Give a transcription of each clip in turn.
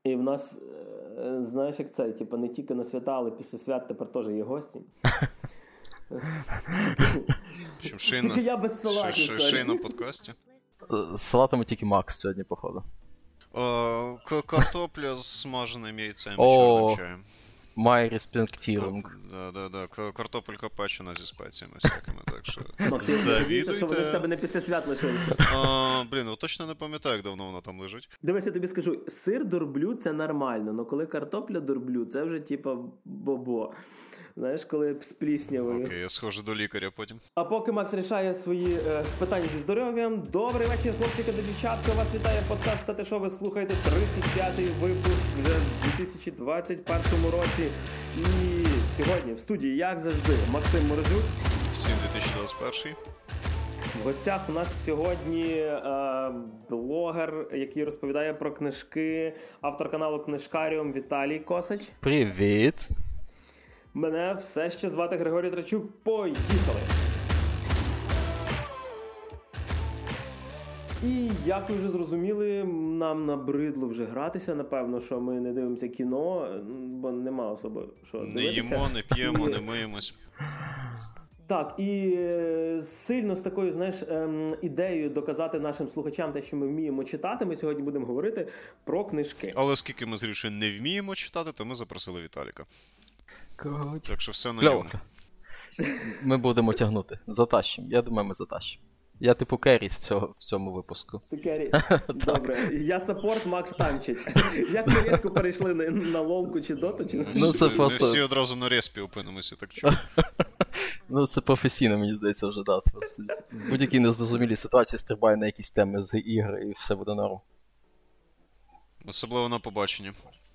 І в нас, знаєш, як це, типу, не тільки на свята, але після свят тепер теж є гості. Тільки я без салатів. Шей на подкасті. З салатами тільки Макс сьогодні, походу. Картопля з смаженим яйцем і чорним чаєм. Май респектірунг. Да. Картопелька печена зі спеціями всякими, так що завідуйте. Що вони в тебе не після свят лишилися. Точно не пам'ятаю, як давно воно там лежить. Дивись, я тобі скажу, сир дурблю – це нормально, але коли картопля дурблю – це вже типа бобо. Знаєш, коли з пліснявою. Окей, я схожу до лікаря потім. А поки Макс рішає свої питання зі здоров'ям, добрий вечір, хлопчики та дівчатка. Вас вітає подкаст «Та ти шо?». Ви слухаєте 35-й випуск вже в 2021 році. І сьогодні в студії, як завжди, Максим Морозюк. Всім 2021. В гостях у нас сьогодні блогер, який розповідає про книжки, автор каналу Книжкаріум Віталій Косач. Привіт! Мене все ще звати Григорій Трачук. Поїхали! І, як ви вже зрозуміли, нам набридло вже гратися, напевно, що ми не дивимося кіно, бо нема особи, що дивитися. Не їмо, не п'ємо, не миємось. Так, і сильно з такою, знаєш, ідеєю доказати нашим слухачам те, що ми вміємо читати, ми сьогодні будемо говорити про книжки. Але оскільки ми з Грішою не вміємо читати, то ми запросили Віталіка. Так що все на ньому. Ми будемо тягнути. Затащимо. Я думаю, ми затащимо. Я типу Керрі в цьому випуску. Ти Керрі? Добре. Я саппорт, Макс танчить. Як ми різко перейшли на лолку чи доту? Чи... Ну, це просто... Ми всі одразу на респі опинимося, так чого? Ну, це професійно, мені здається, вже, да. В будь-якій незрозумілій ситуації стрибає на якісь теми з ігри і все буде норм. Особливо на побаченні.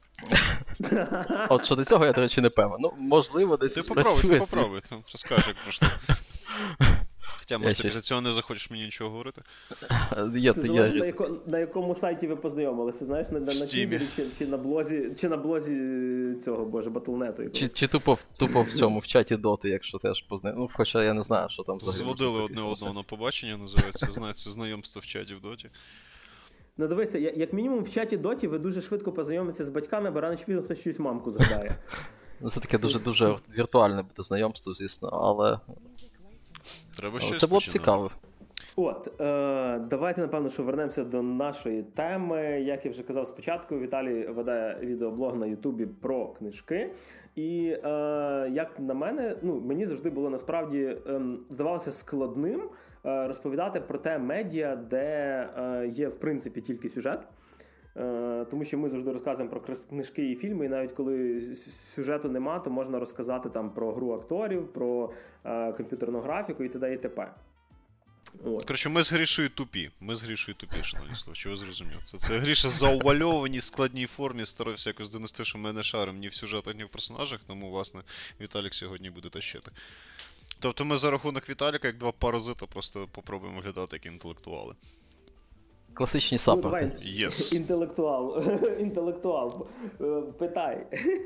От щодо цього я, до речі, не певен. Ну, можливо, десь спрацює. Ти попробуй, розкажи, як пройшло. Хоча, може, ти після цього не захочеш мені нічого говорити. Це залежить, на якому сайті ви познайомилися, знаєш, на Тіндері чи на блозі цього, боже, Батлнету. Чи тупо в цьому, в чаті Доти, якщо теж познайомилися. Ну, хоча я не знаю, що там взагалі. Зводили одне одного на побачення, називається, знаєте, знайомство в чаті в Доті. Ну, дивися, як мінімум в чаті Доті ви дуже швидко познайомитеся з батьками, бо рано чи пізно хтось щось мамку згадає. Ну, це таке дуже віртуальне буде знайомство, звісно, але... Треба щось це було б цікаво. От, давайте, напевно, що вернемося до нашої теми. Як я вже казав спочатку, Віталій веде відеоблог на Ютубі про книжки. І, як на мене, мені завжди було насправді, здавалося складним розповідати про те медіа, де є, в принципі, тільки сюжет. Тому що ми завжди розказуємо про книжки і фільми, і навіть коли сюжету нема, то можна розказати там про гру акторів, про комп'ютерну графіку і т.д. і т.п. Коротше, ми з Грішою тупі. Шановні слухачі, ви зрозуміли. Це Гріша заувальованій складній формі старався якось донести, що ми не шаримо ні в сюжетах, ні в персонажах, тому, власне, Віталік сьогодні буде тащити. Тобто ми за рахунок Віталіка, як два паразита, просто попробуємо виглядати як інтелектуали. Класичні саппорти. Yes. Інтелектуал. Питай.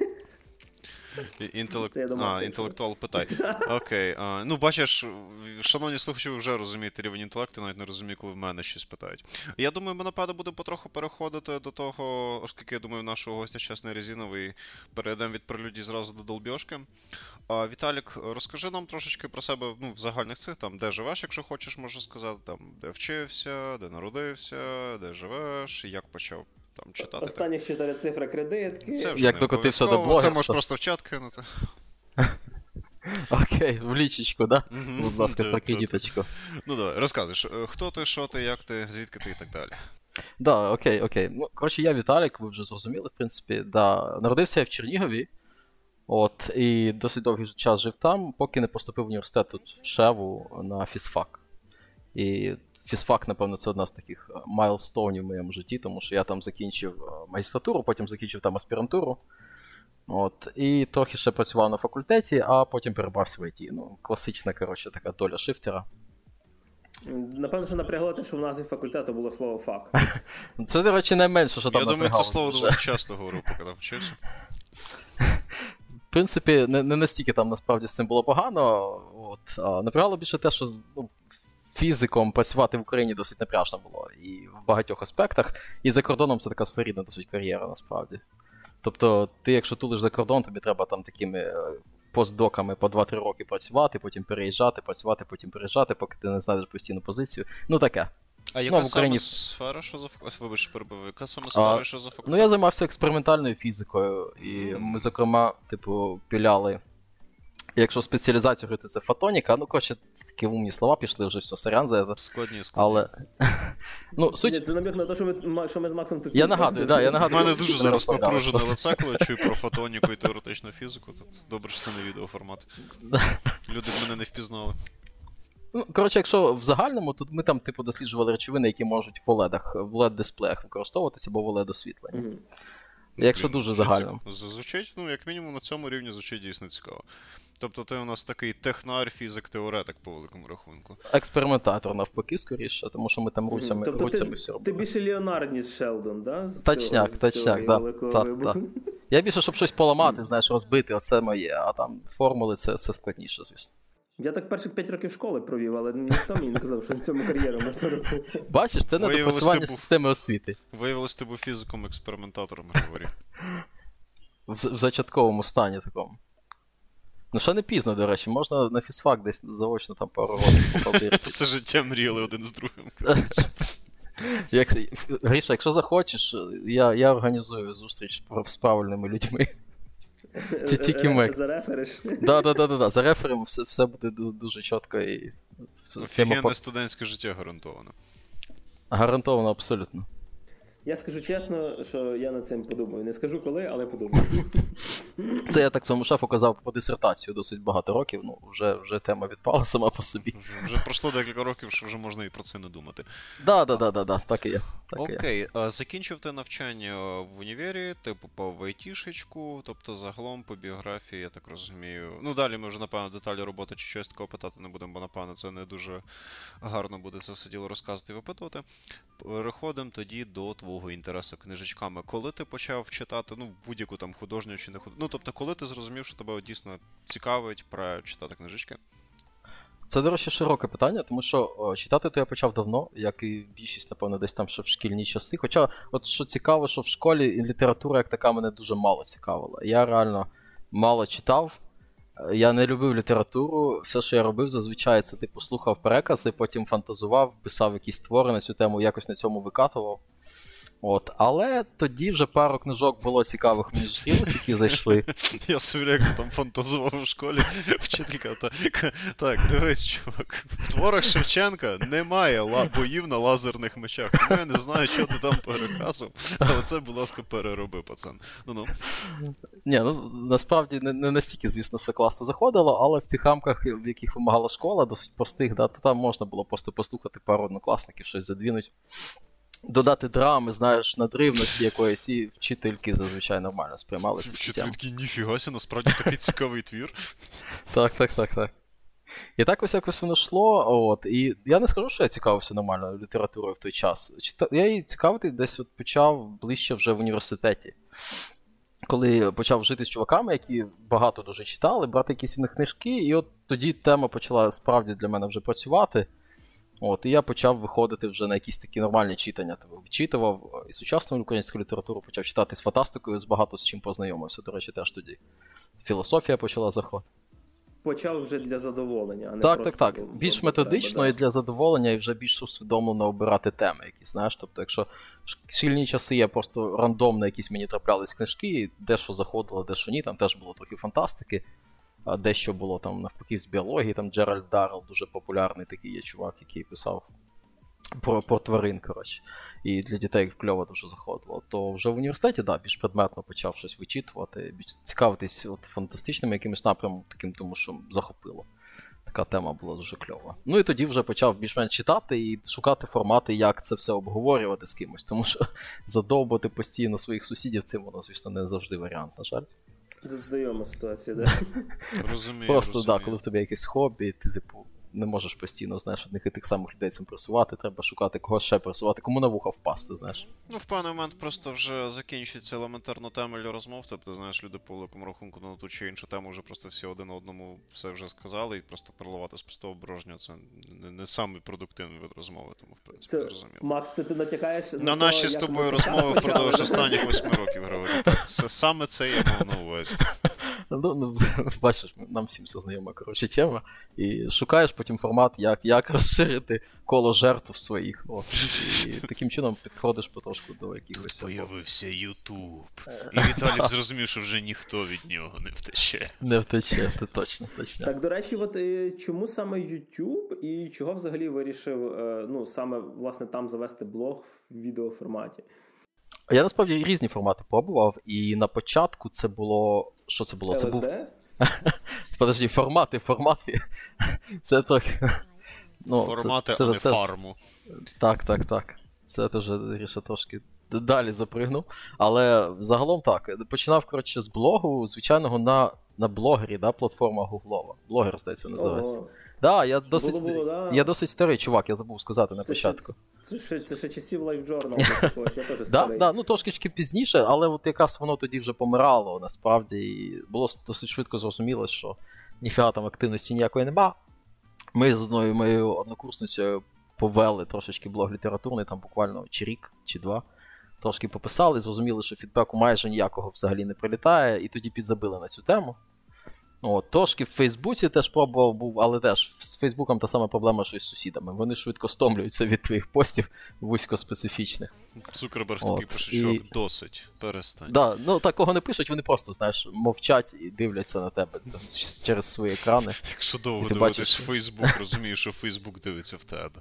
Інтелектуал питай. Окей. Ну, бачиш, шановні слухачі, ви вже розумієте рівень інтелекту, навіть не розумію, коли в мене щось питають. Я думаю, ми, напевно, будемо потроху переходити до того, оскільки, я думаю, нашого гостя час не резиновий, перейдемо від прелюдій зразу до долбьошки. Віталік, розкажи нам трошечки про себе, в загальних цих, там, де живеш, якщо хочеш, можу сказати, там, де вчився, де народився, де живеш, як почав там читати. Останніх 4 цифри кредитки. Як докотився до блогерства. Це можеш просто в чат кинути. Окей, в лічечку, да? Будь ласка, про кредиточку. Ну давай, розказуєш, хто ти, що ти, як ти, звідки ти і так далі. Да, окей. Ну, коротше, я Віталік, ви вже зрозуміли, в принципі, да. Народився я в Чернігові, і досить довгий час жив там, поки не поступив в університет тут в Шеву на фізфак. І фізфак, напевно, це одна з таких майлстоунів в моєму житті, тому що я там закінчив магістратуру, потім закінчив там аспірантуру. І трохи ще працював на факультеті, а потім перебрався в IT. Ну, класична, коротше, така доля шифтера. Напевно, що напрягло те, що в назві факультету було слово «фак». Це, до речі, найменше, що там напрягало. Я думаю, це слово дуже часто говорив, поки там вчився. В принципі, не настільки там насправді з цим було погано. Напрягало більше те, що фізиком працювати в Україні досить напряжно було. І в багатьох аспектах. І за кордоном це така своєрідна досить кар'єра, насправді. Тобто, ти якщо тулиш за кордон, тобі треба там такими постдоками по 2-3 роки працювати, потім переїжджати, працювати, потім переїжджати, поки ти не знайдеш постійну позицію. Ну, таке. А яка саме сфера, що за вибач, перебив, яка саме сфера, що за факультет? Ну, я займався експериментальною фізикою, і ми, зокрема, піляли, якщо спеціалізацію говорити, це фотоніка, ну, коротше, такі умні слова пішли, вже все, сорян за це. Складні. Але, ну, суть... Ні, це намік на те, що ми з Максом тут... Я нагадую. У мене дуже зараз напружене лице, коли я чую про фотоніку і теоретичну фізику, тобто добре, що це не відеоформат. Люди мене не впізнали. Ну, коротше, якщо в загальному, то ми там, досліджували речовини, які можуть в LED-дисплеях використовуватися, або в LED-освітленні. Mm-hmm. Якщо дуже загально. Звучить, ну, як мінімум, на цьому рівні звучить дійсно цікаво. Тобто ти у нас такий технар, фізик, теоретик по великому рахунку. Експериментатор, навпаки, скоріше, тому що ми там руцями все робили. Ти більше Леонард, ніж Шелдон, да? Точняк, так. Я більше, щоб щось поламати, знаєш, розбити, оце моє, а там формули це складніше, звісно. Я так перших 5 років школи провів, але ніхто мені не казав, що в цьому кар'єру можна робити. Бачиш, це недопрацювання системи освіти. Виявилось, ти був фізиком-експериментатором, говорив. В зачатковому стані такому. Ну, ще не пізно, до речі, можна на фізфак десь заочно там пару років покалдирити. Все життя мріяли один з другим. Гріша, якщо захочеш, я організую зустріч з правильними людьми. Це тільки ми. Зарефериш? Да, зареферимо, все буде дуже чітко і... Офігенне студентське життя гарантовано. Гарантовано, абсолютно. Я скажу чесно, що я над цим подумаю. Не скажу коли, але подумаю. Це я так своєму шефу казав про дисертацію досить багато років, ну, вже тема відпала сама по собі. Вже пройшло декілька років, що вже можна і про це не думати. Да, так і є. Окей, закінчив ти навчання в універі, ти попав в айтішечку, тобто загалом по біографії, я так розумію. Ну, далі ми вже, напевно, деталі роботи чи щось такого питати не будемо, бо, напевно, це не дуже гарно буде це все діло розказувати і випитувати. Переходимо тоді до твого інтересу книжечками. Коли ти почав читати, ну, будь-яку там художню чи не художню, ну, тобто, коли ти зрозумів, що тебе дійсно цікавить про читати книжечки? Це, до речі, широке питання, тому що читати то я почав давно, як і більшість, напевно, десь там ще в шкільні часи. Хоча, от що цікаво, що в школі література як така мене дуже мало цікавила. Я реально мало читав, я не любив літературу, все, що я робив, зазвичай, це типу слухав перекази, потім фантазував, писав якісь твори на цю тему, якось на цьому викатував. От, але тоді вже пару книжок було цікавих мені зустрілось, які зайшли. Я собі як там фантазував у школі, вчителька, так, дивись, чувак, в творах Шевченка немає боїв на лазерних мечах, тому я не знаю, що ти там переказував, але це, будь ласка, перероби, пацан. Ну-ну. Ні, ну, насправді не настільки, звісно, все класно заходило, але в тих рамках, в яких вимагала школа, досить простих, да, то там можна було просто послухати пару однокласників, щось задвінуть. Додати драми, знаєш, надривності якоїсь, і вчительки зазвичай нормально сприймалися. Вчительки, ніфігася, насправді такий цікавий твір. Так. І так ось якось воно йшло, от, і я не скажу, що я цікавився нормально літературою в той час. Я її цікавити десь от почав ближче вже в університеті. Коли почав жити з чуваками, які багато дуже читали, брати якісь в них книжки, і от тоді тема почала справді для мене вже працювати. От, і я почав виходити вже на якісь такі нормальні читання. Вичитував і сучасну українську літературу, почав читати з фантастикою, з багато з чим познайомився, до речі, теж тоді. Філософія почала заходити. Почав вже для задоволення, а не так, просто... Так. Більш методично да. І для задоволення, і вже більш усвідомлено обирати теми якісь, знаєш. Тобто, якщо в шкільні часи я просто рандомно якісь мені траплялись книжки, і дещо заходило, дещо ні, там теж було трохи фантастики. А дещо було там навпаки з біології, там Джеральд Даррелл, дуже популярний такий є чувак, який писав про тварин, коротше. І для дітей кльово дуже заходило. То вже в університеті, да, більш предметно почав щось вичитувати, більш цікавитись от фантастичними якимось напрямом таким, тому що захопило. Така тема була дуже кльова. Ну і тоді вже почав більш-менш читати і шукати формати, як це все обговорювати з кимось, тому що задовбати постійно своїх сусідів цим воно, звісно, не завжди варіант, на жаль. Знайома ситуація, так. Розумію. Просто, так, коли в тебе якесь хобі, ти, типу, не можеш постійно, знаєш, одних і тих самих людей цим просувати, треба шукати когось ще просувати, кому на вуха впасти, знаєш. Ну, в певний момент просто вже закінчується елементарно тема для розмов, тобто, знаєш, люди по великому рахунку на ту чи іншу тему вже просто всі один одному все вже сказали, і просто переливати з пустого порожнього це не самий продуктивний вид розмови, тому, в принципі, зрозуміло. Макс, це ти натякаєш на наші з тобою розмови впродовж останніх 8 років, говорю. Так, саме це я мав на увазі. Ну, бачиш, нам всім все знайома, коротше, тема. І шукаєш потім формат, як розширити коло жертв своїх. От. І таким чином підходиш потрошку до якихось... Тут появився YouTube. І Віталік зрозумів, що вже ніхто від нього не втече. Не втече, це точно. Так, до речі, от чому саме YouTube і чого взагалі вирішив, саме, власне, там завести блог в відеоформаті? Я, насправді, різні формати пробував, і на початку це було... Що це було? LSD? Це був... Подожди, формати. Це трохи... Формати, а не фарму. Так. Це теж, Гріша, трошки далі запригнув. Але загалом так. Починав, коротше, з блогу, звичайного на блогері, да, платформа гуглова. Блогер, здається, називається. Да, я досить старий чувак, я забув сказати на початку. Це ще часів LiveJournal, я теж старий. Да, трошки пізніше, але от якраз воно тоді вже помирало, насправді, і було досить швидко зрозуміло, що ніфіга там активності ніякої нема. Ми з одною моєю однокурсницею повели трошечки блог літературний, там буквально чи рік, чи два. Трошки пописали, зрозуміли, що фідбеку майже ніякого взагалі не прилітає, і тоді підзабили на цю тему. Трошки в Фейсбуці теж пробував був, але теж з Фейсбуком та сама проблема, що і з сусідами. Вони швидко стомлюються від твоїх постів вузькоспецифічних. Цукерберг такий пише, що досить, перестань. Да, такого не пишуть, вони просто, знаєш, мовчать і дивляться на тебе через свої екрани. Якщо довго дивитись Фейсбук, розумієш, що Фейсбук дивиться в тебе.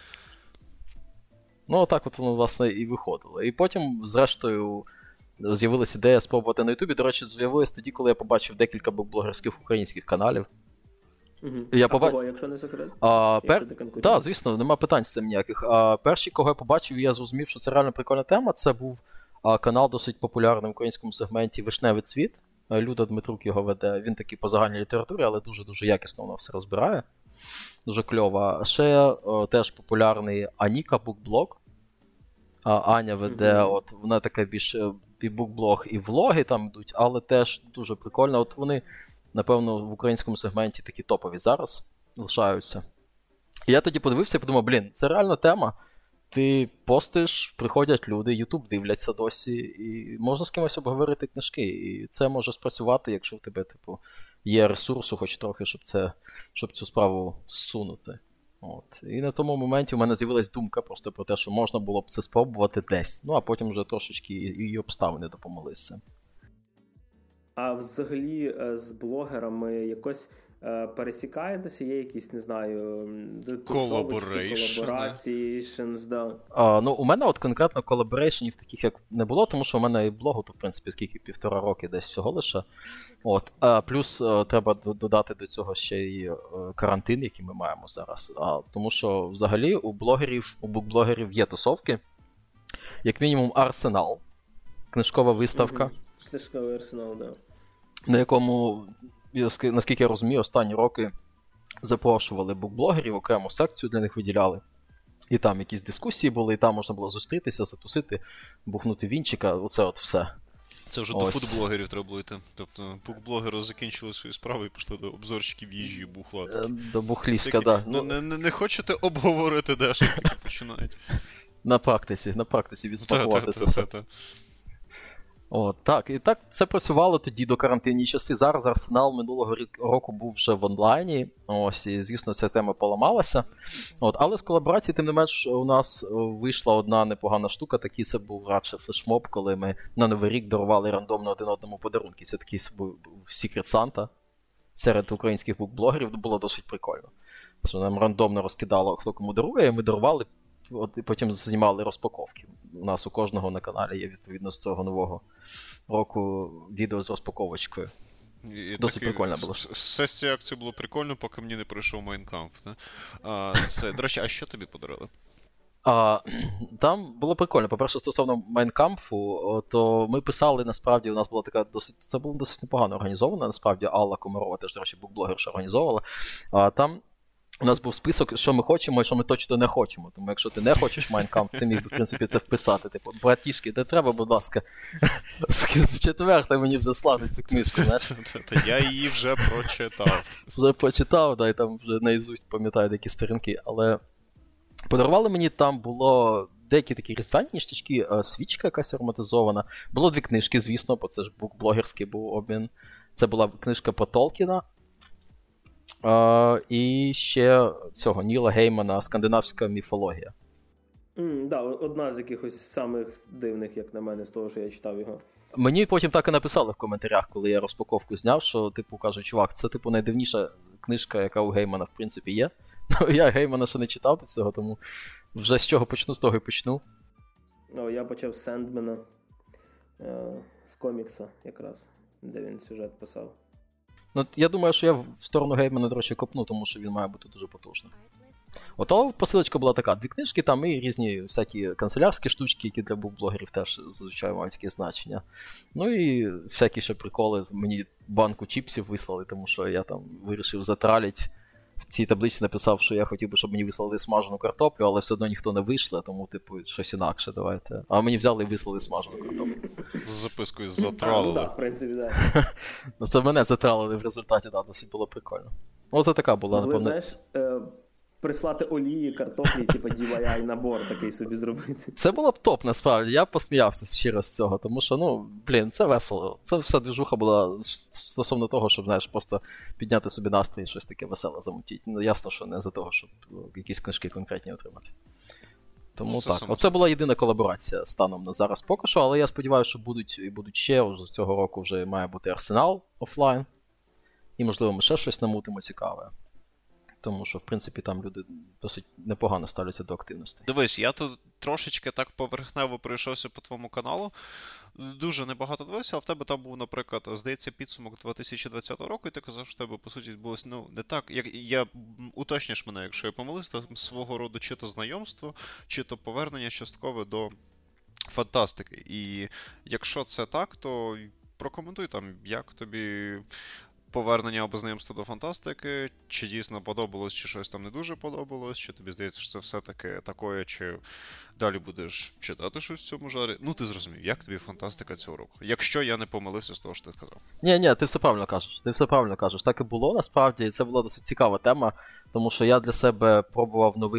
Так от воно, власне, і виходило. І потім, зрештою, з'явилася ідея спробувати на Ютубі. До речі, з'явилась тоді, коли я побачив декілька блогерських українських каналів. Кого, якщо не секрет? Так, звісно, нема питань з цим ніяких. Перші, кого я побачив, і я зрозумів, що це реально прикольна тема, це був канал досить популярний в українському сегменті «Вишневий цвіт». Люда Дмитрук його веде. Він такий по загальній літературі, але дуже-дуже якісно воно все розбирає. Дуже кльово. Ще теж популярний Аніка букблог. Аня веде, вона така більш і букблог, і влоги там йдуть, але теж дуже прикольно. Вони, напевно, в українському сегменті такі топові зараз лишаються. І я тоді подивився і подумав, це реальна тема. Ти постиш, приходять люди, Ютуб дивляться досі, і можна з кимось обговорити книжки. І це може спрацювати, якщо в тебе, є ресурсу хоч трохи, щоб цю справу зсунути. І на тому моменті у мене з'явилась думка просто про те, що можна було б це спробувати десь. А потім вже трошечки і обставини допомогли з цим. А взагалі з блогерами якось пересікаєтеся? Є якісь, не знаю, колаборейшнс, да? У мене конкретно колаборейшнів таких як не було, тому що у мене і блогу, то в принципі скільки 1,5 роки десь всього лише. Плюс треба додати до цього ще й карантин, який ми маємо зараз. Тому що взагалі у букблогерів є тусовки, як мінімум Арсенал, книжкова виставка. Книжковий Арсенал, да. На якому, наскільки я розумію, останні роки запрошували букблогерів, окрему секцію для них виділяли. І там якісь дискусії були, і там можна було зустрітися, затусити, бухнути вінчика, оце все. Це вже до фудблогерів треба було йти. Тобто букблогери закінчили свою справу і пішли до обзорчиків їжі і бухла. До бухлівська, так. Не хочете обговорити, де що таки починають? На практиці відспакувати це все. Так, і так це працювало тоді до карантинні часи. Зараз Арсенал минулого року був вже в онлайні, і, звісно, ця тема поламалася. Але з колаборації, тим не менш, у нас вийшла одна непогана штука, такий це був радше флешмоб, коли ми на Новий рік дарували рандомно один одному подарунки. Це такий був Secret Santa серед українських букблогерів, було досить прикольно. Що нам рандомно розкидало, хто кому дарує, і ми дарували, і потім знімали розпаковки. У нас у кожного на каналі є, відповідно, з цього нового року відео з розпаковочкою. Досить прикольно було. Все з цієї акції було прикольно, поки мені не прийшов Mein Kampf. До речі, а що тобі подарили? Там було прикольно. По-перше, стосовно Mein Kampf, то ми писали, насправді, у нас була така це було досить непогано організовано, насправді, Алла Комарова, теж, до речі, букблогерша організовувала. Там у нас був список, що ми хочемо і що ми точно не хочемо. Тому якщо ти не хочеш Mein Kampf, ти міг би, в принципі, це вписати. Типу, братішки, не треба, будь ласка, в четвер ти мені вже слати цю книжку, знаєш. Я її вже прочитав. Вже прочитав, да, і там вже наізусть пам'ятаю деякі сторінки, але подарували мені, там було деякі такі різдвяні ніштячки, свічка якась ароматизована. Було 2 книжки, звісно, бо це ж букблогерський був обмін. Це була книжка про Толкіна. І ще цього Ніла Геймана «Скандинавська міфологія». Да, одна з якихось самих дивних, як на мене, з того, що я читав його. Мені потім так і написали в коментарях, коли я розпаковку зняв, що, типу, кажуть, чувак, це, типу, найдивніша книжка, яка у Геймана, в принципі, є. Ну, я Геймана ще не читав до цього, тому вже з чого почну, з того і почну. Я почав з Сендмена, з комікса якраз, де він сюжет писав. Ну, я думаю, що я в сторону Геймана, до речі, копну, тому що він має бути дуже потужним. Ото посилочка була така, 2 книжки, там і різні всякі канцелярські штучки, які для букблогерів теж зазвичай мають таке значення. Ну і всякі ще приколи. Мені банку чіпсів вислали, тому що я там вирішив затралити. В цій таблиці написав, що я хотів би, щоб мені вислали смажену картоплю, але все одно ніхто не вийшло, тому, типу, щось інакше давайте. А мені взяли і вислали смажену картоплю. З запискою затралили. Так, в принципі, так. Ну, це мене затралили в результаті, так, досить було прикольно. Оце така була, напевно. Знаєш, прислати олії, картоплі, типу DIY набор такий собі зробити. Це було б топ, насправді. Я посміявся щиро з цього, тому що, це весело. Це вся движуха була стосовно того, щоб, знаєш, просто підняти собі настрій і щось таке веселе замутити. Ну, ясно, що не за того, щоб якісь книжки конкретні отримати. Тому так. Оце була єдина колаборація станом на зараз поки що, але я сподіваюся, що будуть ще. Уже цього року вже має бути Арсенал офлайн. І, можливо, ми ще щось намутимо цікаве. Тому що, в принципі, там люди досить непогано ставляться до активності. Дивись, я тут трошечки так поверхнево пройшовся по твоєму каналу. Дуже небагато дивився, а в тебе там був, наприклад, здається, підсумок 2020 року, і ти казав, що в тебе, по суті, відбулося, не так. Я уточніш мене, якщо я помилився, свого роду чи то знайомство, чи то повернення часткове до фантастики. І якщо це так, то прокоментуй там, як тобі повернення або знайомство до фантастики, чи дійсно подобалось, чи щось там не дуже подобалось, чи тобі здається, що це все-таки такое, чи далі будеш читати щось в цьому жарі. Ну, ти зрозумів, як тобі фантастика цього року? Якщо я не помилився з того, що ти сказав. Ні, ти все правильно кажеш. Так і було, насправді, і це була досить цікава тема, тому що я для себе пробував новий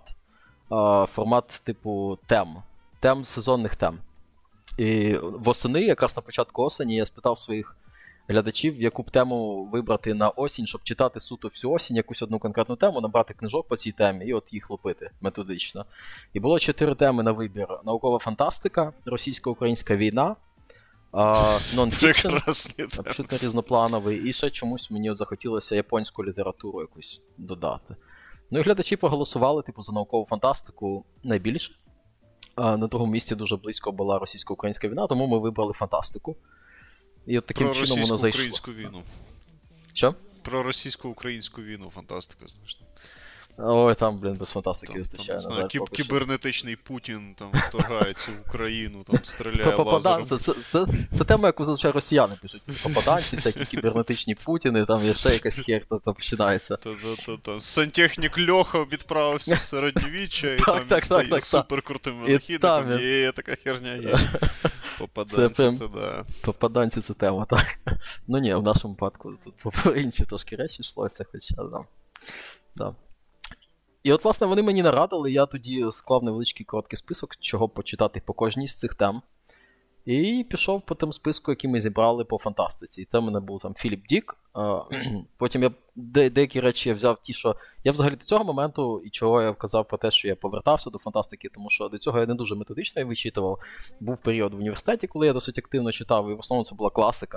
формат типу тем, сезонних тем. І восени, якраз на початку осені, я спитав своїх глядачів, яку б тему вибрати на осінь, щоб читати суто всю осінь якусь одну конкретну тему, набрати книжок по цій темі і от їх лупити методично. І було 4 теми на вибір. Наукова фантастика, російсько-українська війна, нон-фікшн, абсолютно різноплановий, і ще чомусь мені захотілося японську літературу якусь додати. Ну і глядачі проголосували, за наукову фантастику найбільше. На другому місці дуже близько була російсько-українська війна, тому ми вибрали фантастику. І от таким чином воно зайшло. Про російсько-українську війну. Що? Про російсько-українську війну фантастика, знаєш. Ой, там, без фантастики вистачає. Кібернетичний Путін там вторгається в Україну, там стріляє лазером. Це тема, яку зазвичай росіяни пишуть. Попаданці, всякі кібернетичні Путіни, там є ще якась херта, там починається. Сантехнік Льоха відправився в середньовіччя, і там він стає суперкрутим винахідником, є така херня є. Попаданці, це да. Попаданці це тема, так. Ну ні, в нашому випадку тут по інші трошки речі йшлося, хоча, да. І от, власне, вони мені нарадили, я тоді склав невеличкий короткий список, чого почитати по кожній з цих тем. І пішов по тому списку, який ми зібрали по фантастиці. І там у мене був там Філіп Дік. Потім я деякі речі я взяв ті, що... Я взагалі до цього моменту, і чого я вказав про те, що я повертався до фантастики, тому що до цього я не дуже методично її вичитував. Був період в університеті, коли я досить активно читав, і в основному це була класика.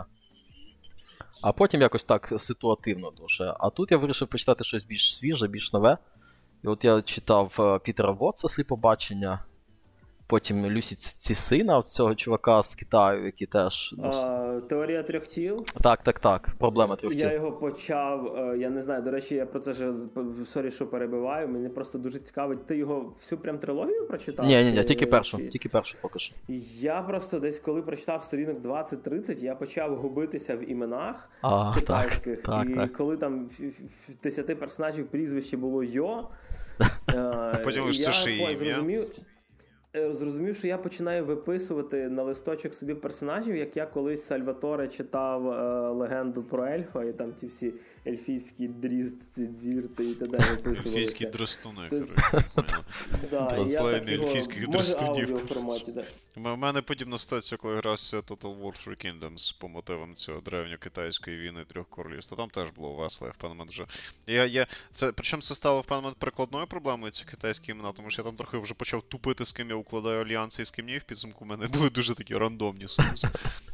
А потім якось так ситуативно дуже. А тут я вирішив почитати щось більш свіже, більш нове. І от я читав Пітера Вотса «Сліпобачення», потім Люсі Цісина, цього чувака з Китаю, який теж... Теорія трьох тіл? Так. Проблема трьох тіл. Я його почав, я не знаю, до речі, я про це ж, сорі, що перебиваю, мені просто дуже цікавить. Ти його всю прям трилогію прочитав? Ні, тільки першу поки що. Я просто десь, коли прочитав сторінок 20-30, я почав губитися в іменах китайських. Коли там в 10 персонажів прізвище було Йо, зрозумів, що я починаю виписувати на листочок собі персонажів, як я колись Сальваторе читав легенду про ельфа, і там ці всі ельфійські дрізд, дзірти і т.д. виписувалися. Ельфійські дростуни, коротше. ельфійських дростунів. Може, форматі, так. У мене подібна ситуація, коли грався Total War Three Kingdoms по мотивам цього древньокитайської війни трьох королівств. Там теж було весело, я в певний момент вже... Причому це стало в певний момент прикладною проблемою, ці китайські імена, тому що я там трохи вже почав тупити, з ким я укладаю альянси і з ким ні, в підсумку в мене були дуже такі рандомні союзи.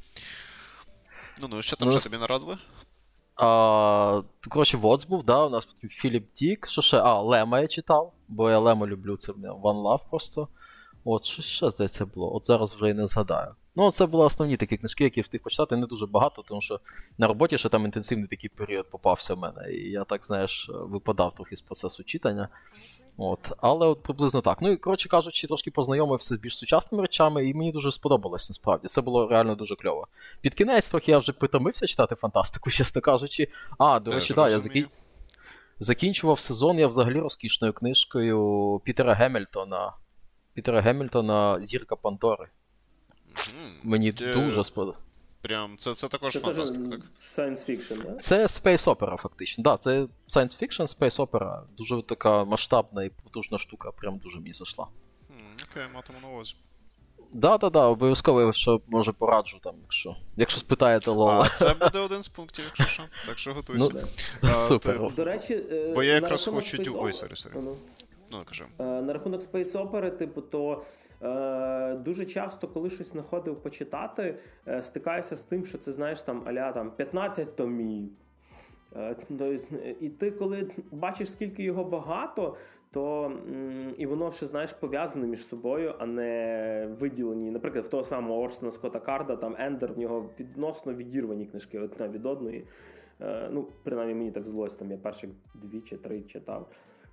Що там, що тобі нарадили? Коротше, Воц був, у нас Філіп Дік, що ще? Лема я читав, бо я Лема люблю, це One Love просто. Що ще, здається, було? Зараз вже і не згадаю. Це були основні такі книжки, які я встиг почитати, не дуже багато, тому що на роботі ще там інтенсивний такий період попався в мене, і я так, випадав трохи з процесу читання. Але приблизно так. І, коротше кажучи, трошки познайомився з більш сучасними речами, і мені дуже сподобалось, насправді. Це було реально дуже кльово. Під кінець трохи я вже притомився читати фантастику, чесно кажучи. До речі, я закінчував сезон я взагалі розкішною книжкою Пітера Геммельтона «Зірка Пандори». Мені дуже сподобалось. Прям, це також фантастика, так? Science fiction, да? Це space opera, фактично. Це science fiction, space opera. Дуже така масштабна і потужна штука, прям дуже мені зайшла. Окей, матиму на увазі. Обов'язково, що, може, пораджу там, якщо спитаєте Лола. Це буде один з пунктів, якщо що. Так що готуйся. Супер. До речі, бо я якраз хочу... Ой, сорі. Кажи. На рахунок Space Opera, то дуже часто, коли щось знаходив почитати, стикаюся з тим, що це, знаєш, там, а-ля 15 томів. І ти, коли бачиш, скільки його багато, то і воно ще, знаєш, пов'язане між собою, а не виділені. Наприклад, в того самого Орсона Скотта Карда, там Ендер, в нього відносно відірвані книжки одна від одної. Принаймні мені так здалося, там я перших 2 чи 3 читав.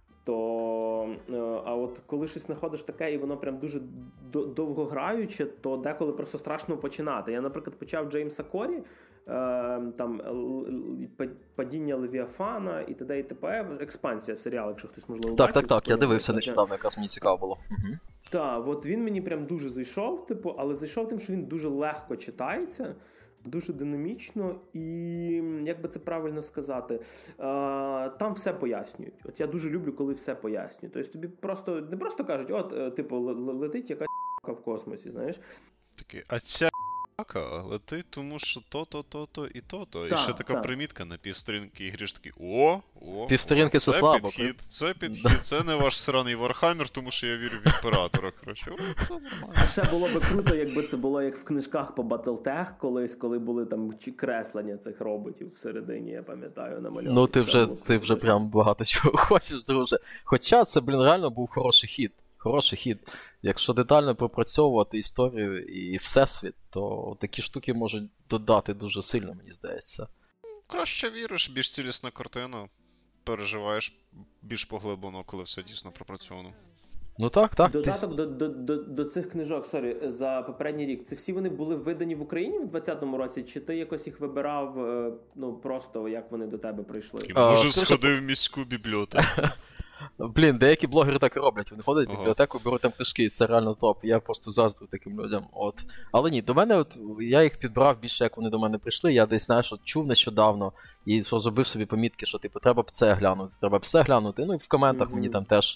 А от коли щось знаходиш таке, і воно прям дуже довгограюче, то деколи просто страшно починати. Я, наприклад, почав Джеймса Корі, там «Падіння Левіафана» і т.д. і т.п. Експансія серіал, якщо хтось, можливо, бачив. Так, я дивився нещодавно, якраз мені цікаво було. Так, от він мені прям дуже зайшов, але зайшов тим, що він дуже легко читається, дуже динамічно і, як би це правильно сказати, там все пояснюють. От я дуже люблю, коли все пояснюють. Тобто тобі не просто кажуть, летить якась в космосі, знаєш. Такий, а ця летить, тому що то-то і то-то. І ще така примітка на півсторінки і гріш такий, півсторінки це слабо. Це підхід, це не ваш сраний Вархаммер, тому що я вірю в імператора, коротше. Ще було би круто, якби це було як в книжках по Battletech колись, коли були там креслення цих роботів всередині, я пам'ятаю, намальовані. Ти вже прям багато чого хочеш, друже. Хоча це, реально був хороший хід. Якщо детально пропрацьовувати історію і всесвіт, то такі штуки можуть додати дуже сильно, мені здається. Краще віриш, більш цілісна картина, переживаєш більш поглиблено, коли все дійсно пропрацьовано. Так. Додаток до цих книжок, за попередній рік, це всі вони були видані в Україні в 2020 році, чи ти якось їх вибирав, просто як вони до тебе прийшли? Може, сходив в міську бібліотеку. Деякі блогери так і роблять. Вони ходять в бібліотеку, беруть там книжки, і це реально топ. Я просто заздрю таким людям. Але ні, до мене, я їх підбрав більше, як вони до мене прийшли. Я десь, чув нещодавно і зробив собі помітки, що, треба б це глянути, Ну і в коментах мені там теж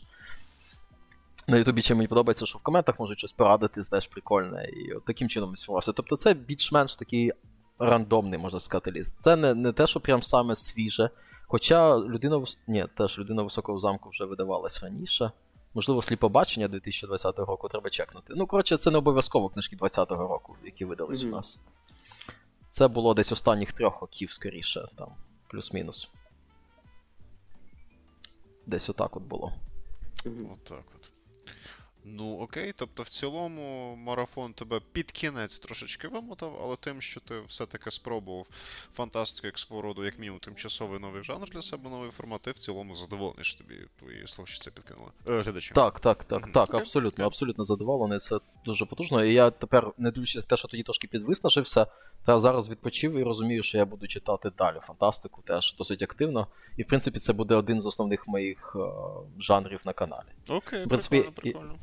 на Ютубі чим мені подобається, що в коментах можуть щось порадити, теж прикольне. І от таким чином сформувався. Тобто це більш-менш такий рандомний, можна сказати, ліст. Це не те, що прям саме свіже. Хоча «Людина високого замку» вже видавалась раніше. Можливо, «Сліпобачення» 2020 року треба чекнути. Це не обов'язково книжки 2020 року, які видались у нас. Це було десь останніх 3 років, скоріше, там, плюс-мінус. Десь отак було. Отак от. Ну, окей, тобто в цілому марафон тебе під кінець трошечки вимотав, але тим, що ти все-таки спробував фантастику як свого роду, як мінімум, тимчасовий новий жанр для себе, новий формат, ти в цілому задоволений, що тобі твої слухачі підкинули. Глядачі. Так, абсолютно задоволений, це дуже потужно. І я тепер, не дивлячись на те, що тоді трошки підвиснажився, та зараз відпочив і розумію, що я буду читати далі фантастику, теж досить активно. І, в принципі, це буде один з основних моїх жанрів на каналі. Окей, в принципі, прикольно.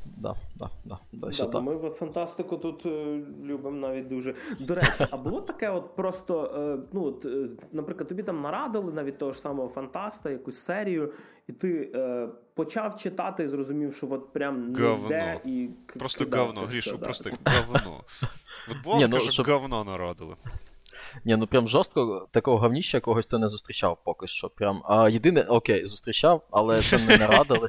Ми в фантастику тут любимо навіть дуже. До речі, а було таке от просто, наприклад, тобі там нарадили навіть того ж самого фантаста, якусь серію, і ти почав читати і зрозумів, що от прям не йде і просто говно, Грішу, просто говно. От було, що говно нарадили. Ні, ну прям жорстко такого говніща якогось ти не зустрічав поки що. Прям. А єдине, окей, зустрічав, але це не нарадили.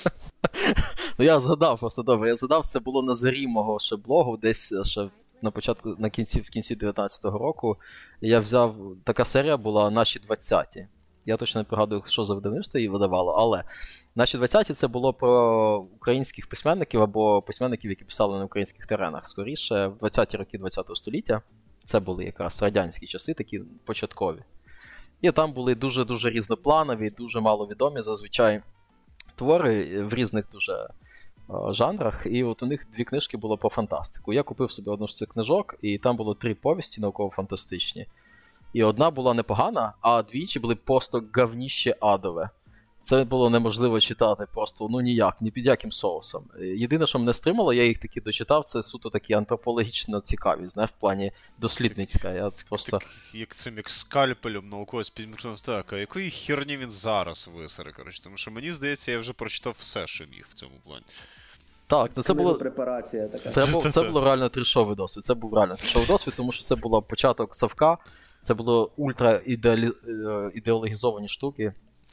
Ну я згадав просто добре, це було на зарі мого ще блогу, десь ще на початку, в кінці 19-го року. Я взяв, така серія була «Наші 20-ті». Я точно не пригадую, що за видавництво її видавало, але «Наші 20-ті» це було про українських письменників або письменників, які писали на українських теренах. Скоріше, в 20-ті роки 20-го століття. Це були якраз радянські часи, такі початкові. І там були дуже-дуже різнопланові, дуже маловідомі зазвичай твори в різних дуже жанрах. І от у них 2 книжки було по фантастику. Я купив собі одну з цих книжок, і там було 3 повісті науково-фантастичні. І одна була непогана, а 2 були просто говніще адове. Це було неможливо читати просто, ніяк, ні під яким соусом. Єдине, що мене стримало, я їх таки дочитав, це суто такі антропологічно цікаві, знаєш, в плані дослідницька. Я просто... Як цим, як скальпелем науковець підмікнув, так, а якої херні він зараз висере, коротше, тому що мені здається, я вже прочитав все, що міг в цьому плані. Так, це було... Препарація така. Це було реально трішовий досвід, тому що це був початок Савка, це було ультра ідеологізовані штуки.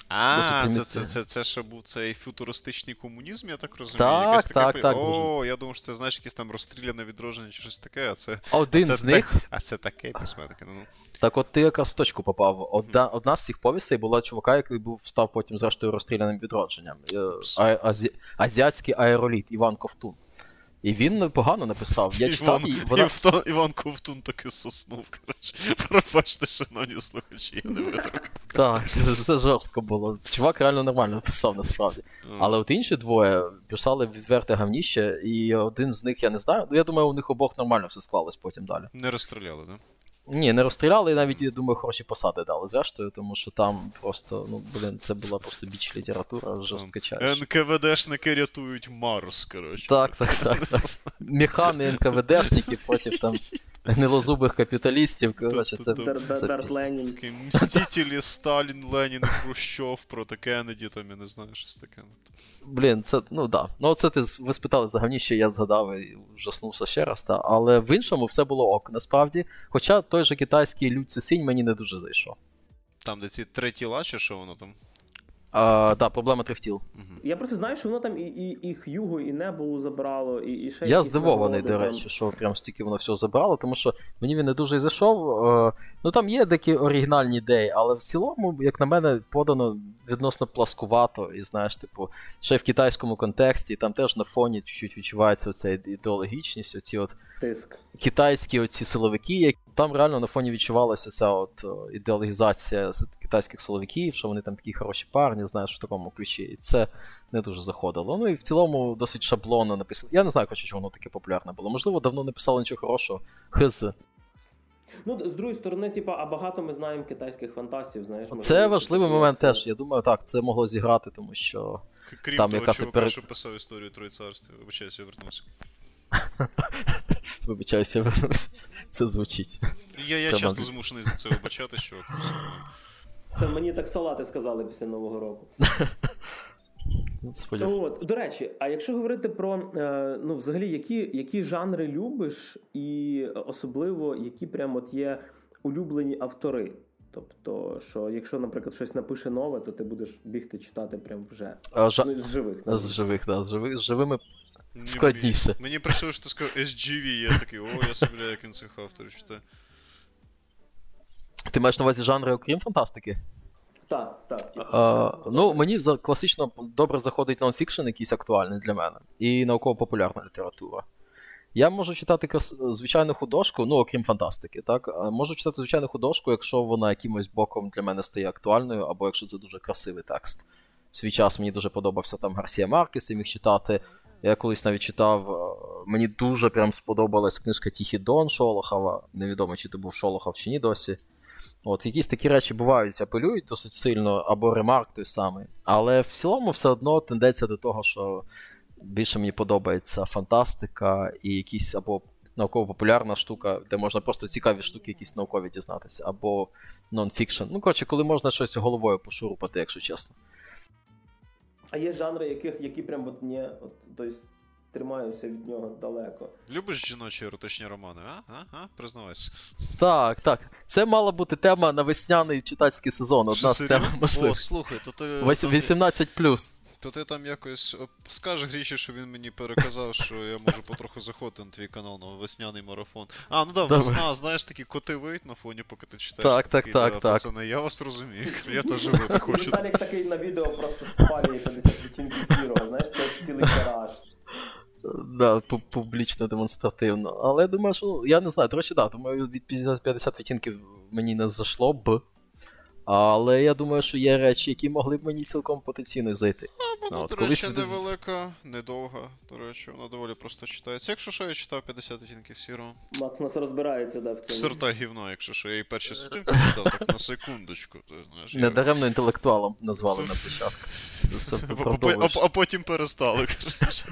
Це ще був цей футуристичний комунізм, я так розумію? Так. Я думав, що це, знаєш, якесь там розстріляне відродження чи щось таке, а це... Один з них... А це таке письменники, ну. Так от ти якраз в точку попав. Одна з цих повістей була чувака, який став потім, зрештою, розстріляним відродженням. Азіатський аероліт Іван Ковтун. І він непогано написав. Я читав Іван Ковтун таки соснув, коротше. Пробачте, шановні слухачі, я не витримав. Так, це жорстко було. Чувак реально нормально написав, насправді. Але от інші двоє писали відверте говніще, і один з них, я не знаю, я думаю, у них обох нормально все склалось потім далі. Не розстріляли, да? Ні, не розстріляли, і навіть, я думаю, хороші посади дали, зрештою, тому що там просто, це була просто біч література, жорсткачаюча. НКВДшники рятують Марс, коротше. Так. Механи НКВДшники проти там гнилозубих капіталістів, коротше, це Ленін. Мстителі, Сталін, Ленін, Хрущов, проти Кеннеді, там, я не знаю, щось таке. Це, да. Ну, це ви спитали за говніще, я згадав і ужаснувся ще раз, та. Але в іншому все було ок, насправді. Хоча той же китайський Лю Цисінь мені не дуже зайшов. Там, де ці 3 тіла, чи що воно там? Так, проблема 3 тіл. Я просто знаю, що воно там і Х'юго, і Небулу забрало, і ще я здивований, до речі, що прям стільки воно все забрало, тому що мені він не дуже і зайшов. Там є деякі оригінальні ідеї, але в цілому, як на мене, подано відносно пласкувато, і знаєш, ще й в китайському контексті, там теж на фоні чуть-чуть відчувається оця ідеологічність, оці от тиск. Китайські оці силовики, там реально на фоні відчувалася ця от ідеологізація китайських силовиків, що вони там такі хороші парні, знаєш, в такому ключі, і це не дуже заходило. Ну і в цілому досить шаблонно написано. Я не знаю, чому воно таке популярне було. Можливо, давно не писали нічого хорошого. З другої сторони, а багато ми знаємо китайських фантастів, знаєш. Це важливий момент теж. Я думаю, так, це могло зіграти, тому що... Крім там того чувака, що писав історію Троєцарства. Вибачаюся, я вернувся. Вибачаюся, я вернувся. Це звучить. Я часто змушений за це вибачати, що... Це мені так салати сказали після Нового року. До речі, а якщо говорити про, взагалі, які жанри любиш, і особливо, які прям от є улюблені автори? Тобто, що якщо, наприклад, щось напише нове, то ти будеш бігти читати прям вже. З живих. З живих, так. З живими складніше. Мені прийшло, що ти сказав SGV, я такий, я собі, як він цих авторів читає. Ти маєш на увазі жанри, окрім фантастики? Так. Ну, мені класично добре заходить нонфікшн якийсь актуальний для мене. І науково-популярна література. Я можу читати звичайну художку, ну, окрім фантастики, так? Можу читати звичайну художку, якщо вона якимось боком для мене стає актуальною, або якщо це дуже красивий текст. В свій час мені дуже подобався там Гарсія Маркес, я міг читати. Я колись навіть читав, мені дуже прям сподобалась книжка Тихий Дон Шолохова. Невідомо, чи це був Шолохов чи ні досі. От, якісь такі речі бувають, апелюють досить сильно, або Ремарк той самий. Але в цілому все одно тенденція до того, що більше мені подобається фантастика і якісь або науково-популярна штука, де можна просто цікаві штуки якісь наукові дізнатися, або нон-фікшн. Ну, коротше, коли можна щось головою пошурупати, якщо чесно. А є жанри, які прям от ні, тобто тримаюся від нього далеко. Любиш жіночі еротичні романи, а? Признавайся. Так. Це мала бути тема на весняний читацький сезон. Одна з тем можливих. О, слухай, то ти... 18+. То ти там якось скажеш Гріші, що він мені переказав, що я можу потроху заходити на твій канал на весняний марафон. А, ну да, весна, знаєш, такі коти виють на фоні, поки ти читаєш. Так. Пацани, я вас розумію, я теж вити хочу. Віталік такий на відео просто спалює 50 відтінків сірого, знаєш, це цілий гараж. Да, публічно, демонстративно. Але я думаю, що, я не знаю, до речі, думаю, від 50 відтінків мені не зайшло б. Але я думаю, що є речі, які могли б мені цілком потенційно зайти. Вона, до речі, невелика, недовга, до речі, вона доволі просто читається. Якщо що, я читав 50 відтінків сірого. Макс розбирається, в цьому. Сорта гівно, якщо що, я її перші сторінки читав, так на секундочку. Знаєш, недаремно інтелектуалом назвали на початку. А потім перестали, коротше.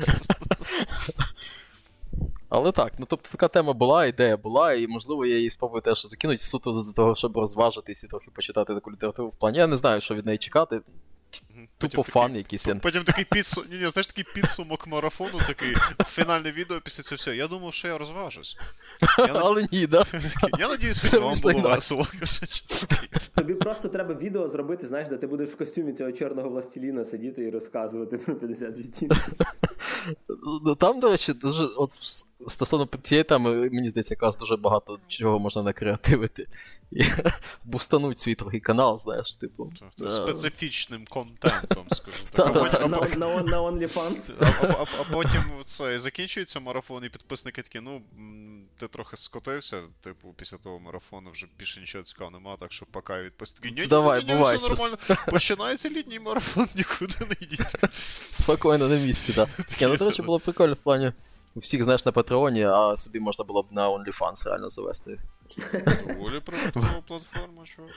Але так, ну тобто така тема була, ідея була, і можливо я її спробую теж закинути суто за того, щоб розважитись і трохи почитати таку літературу в плані. Я не знаю, що від неї чекати. Тупо фан якийсь. Потім такий знаєш, такий підсумок марафону, такий фінальне відео після цього всього. Я думав, що я розважусь. Але ні, да? Я надіюсь, що вам було весело. Тобі просто треба відео зробити, знаєш, де ти будеш в костюмі цього чорного властеліна сидіти і розказувати про 50 відтінків. Там, до речі, дуже, от стосовно цієї теми, мені здається, якраз дуже багато чого можна накреативити. І бустануть свій трохи канал, знаєш, типу. Специфічним контентом, скажімо так. На OnlyFans. А потім це закінчується марафон, і підписники такі, ну, ти трохи скотився, типу, після того марафону вже більше нічого цікавого нема, так що пока відписники. Ні, все нормально. Починається літній марафон, нікуди не йдіть. Спокійно, на місці, так. Ну, до речі, було прикольно в плані. У всіх, знаєш, на Патреоні, а собі можна було б на OnlyFans реально завести. Доволі продуктова платформа, чувак.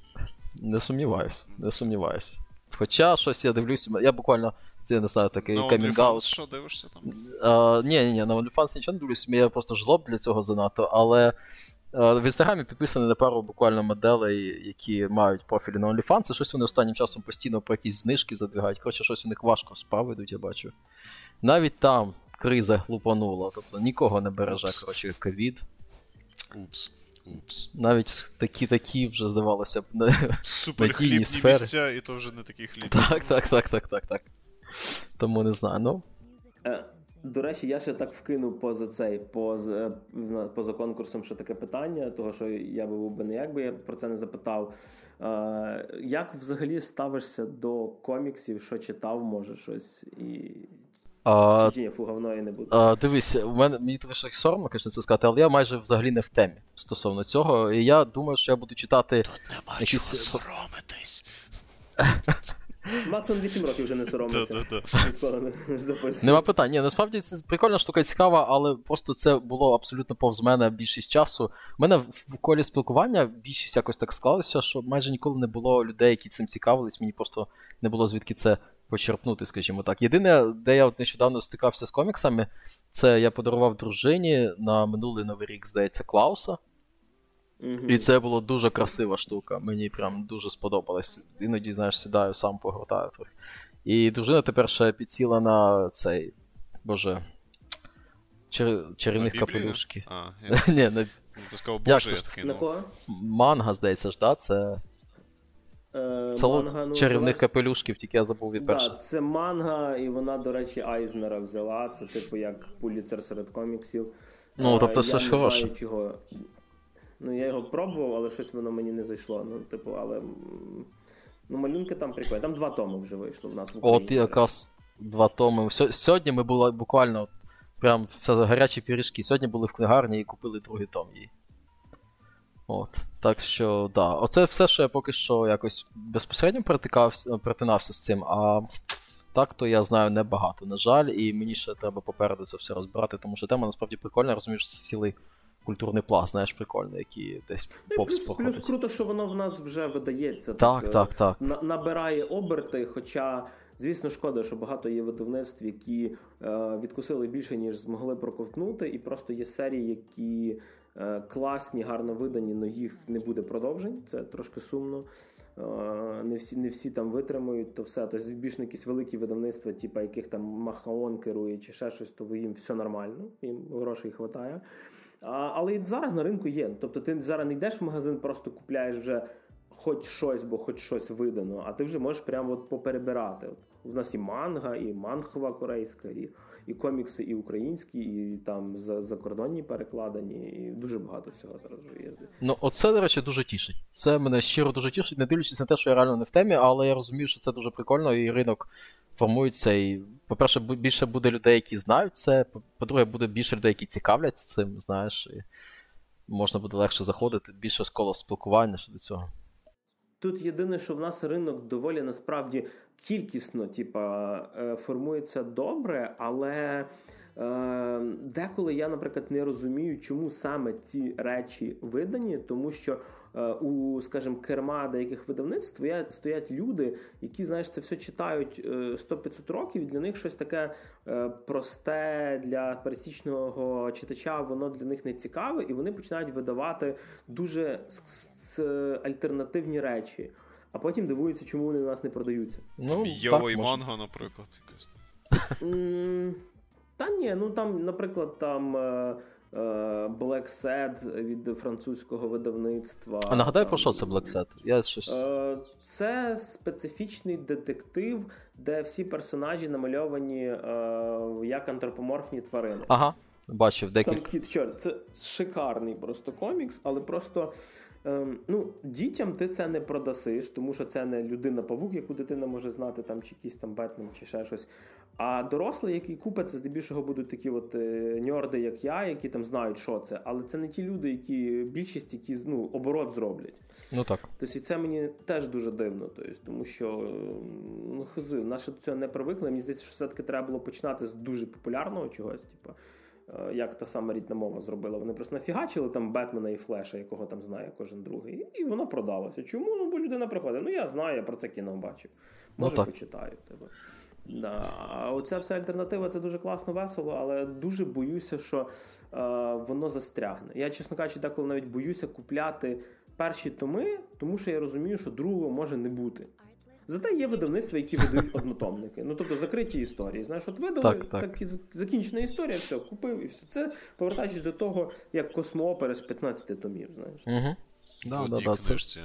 Не сумніваюсь. Хоча щось я дивлюсь, я буквально, це не знаю, такий камінг-аут. Що дивишся там? Ні, на OnlyFans нічого не дивлюсь, я просто жлоб для цього занадто, але в Інстаграмі підписані на пару буквально моделей, які мають профілі на OnlyFans, і щось вони останнім часом постійно про якісь знижки задвигають, коротше, щось у них важко справи йдуть, я бачу. Навіть там криза глупанула, тобто нікого не береже, коротше, ковід. Упс. Навіть такі вже, здавалося б, суперхлібні місця, і то вже не такі хлібні. Так. Тому не знаю, ну. До речі, я ще так вкинув поза конкурсом ще таке питання, того, що я був би не якби я про це не запитав. Як взагалі ставишся до коміксів, що читав, може, щось і... Чи ні, говно і не буде. Дивись, мені трохи соромно, звісно, це сказати, але я майже взагалі не в темі стосовно цього. І я думаю, що я буду читати... Тут нема якісь... чого соромитись. Максимум 8 років вже не соромиться. Нема питань. Ні, насправді це прикольна штука, цікава, але просто це було абсолютно повз мене більшість часу. У мене в колі спілкування більшість якось так склалося, що майже ніколи не було людей, які цим цікавились, мені просто не було звідки це почерпнути, скажімо так. Єдине, де я от нещодавно стикався з коміксами, це я подарував дружині на минулий Новий рік, здається, Клауса. І це була дуже красива штука, мені прям дуже сподобалось. Іноді, знаєш, сідаю, сам погортаю трохи. І дружина тепер ще підсіла на цей, чарівних капелюшки. Ні, не... Ти сказав, боже, я такий, на кого? Манга, здається ж, да? Це манга, чарівних капелюшків, тільки я забув від першого. Так, це манга, і вона, до речі, Айзнера взяла, це типу як Пулітцер серед коміксів. Ну, тобто все ж хороше. Я не знаю, чого... Ну, я його пробував, але щось воно мені не зайшло. Ну, типу, але Ну, малюнки там прикольні. Там 2 томи вже вийшло в нас в Україні. От якраз 2 томи. Сьогодні ми були буквально прям все гарячі пиріжки. Сьогодні були в книгарні і купили 2-й том її. От. Так що, да. Оце все, що я поки що якось безпосередньо перетинався з цим, а так то я знаю небагато, на жаль, і мені ще треба попереду це все розбирати, тому що тема насправді прикольна, розумієш, це цілий культурний пласт, знаєш, прикольний, який десь повз проходить. Плюс круто, що воно в нас вже видається. Так. Набирає оберти, хоча, звісно, шкода, що багато є видавництв, які відкусили більше, ніж змогли проковтнути, і просто є серії, які класні, гарно видані, але їх не буде продовжень, це трошки сумно. Не всі там витримують, то все. Тобто більш на якісь великі видавництва, типу яких там Махаон керує чи ще щось, то їм все нормально, їм грошей хватає. Але і зараз на ринку є. Тобто ти зараз не йдеш в магазин, просто купляєш вже хоч щось, бо хоч щось видано, а ти вже можеш прямо от поперебирати. У нас і манга, і манхва корейська, і комікси, і українські, і там закордонні перекладені, і дуже багато всього зараз вже є. Ну, оце, до речі, дуже тішить. Це мене щиро дуже тішить, не дивлячись на те, що я реально не в темі, але я розумію, що це дуже прикольно, і ринок формується, і, по-перше, більше буде людей, які знають це, по-друге, буде більше людей, які цікавляться цим, знаєш, і можна буде легше заходити, більше коло спілкування щодо цього. Тут єдине, що в нас ринок доволі, насправді, кількісно, формується добре, але деколи я, наприклад, не розумію, чому саме ці речі видані, тому що у, скажімо, керма деяких видавництв стоять люди, які, знаєш, це все читають 100-500 років, і для них щось таке просте для пересічного читача, воно для них не цікаве, і вони починають видавати дуже альтернативні речі. А потім дивуються, чому вони у нас не продаються. Йо і манго, наприклад. Та ні, ну там, наприклад, там Black Sad від французького видавництва. А нагадай, про що це Black Sad? Я щось... Це специфічний детектив, де всі персонажі намальовані як антропоморфні тварини. Ага, бачив декілька. Там кіт чорт. Це шикарний просто комікс, але просто... дітям ти це не продасиш, тому що це не людина-павук, яку дитина може знати, там, чи якийсь там Бетмен, чи ще щось. А дорослі, які купять, це здебільшого будуть такі от ньорди, як я, які там знають, що це. Але це не ті люди, більшість, які оборот зроблять. Ну так. Тобто і це мені теж дуже дивно, тому що наші до цього не привикли. Мені здається, що все-таки треба було починати з дуже популярного чогось, як та сама рідна мова зробила. Вони просто нафігачили там Бетмена і Флеша, якого там знає кожен другий, і воно продалося. Чому? Бо людина приходить. Я знаю, я про це кіно бачив. Може, почитаю тебе. Да. А оця вся альтернатива, це дуже класно, весело, але дуже боюся, що воно застрягне. Я, чесно кажучи, деколи навіть боюся купляти перші томи, тому що я розумію, що другого може не бути. Зате є видавництва, які видають однотомники. Тобто закриті історії. Знаєш, от видали, так. Закінчена історія, все, купив і все. Це повертаючись до того, як Космоопера з 15 томів, знаєш. Угу. Да, книжці,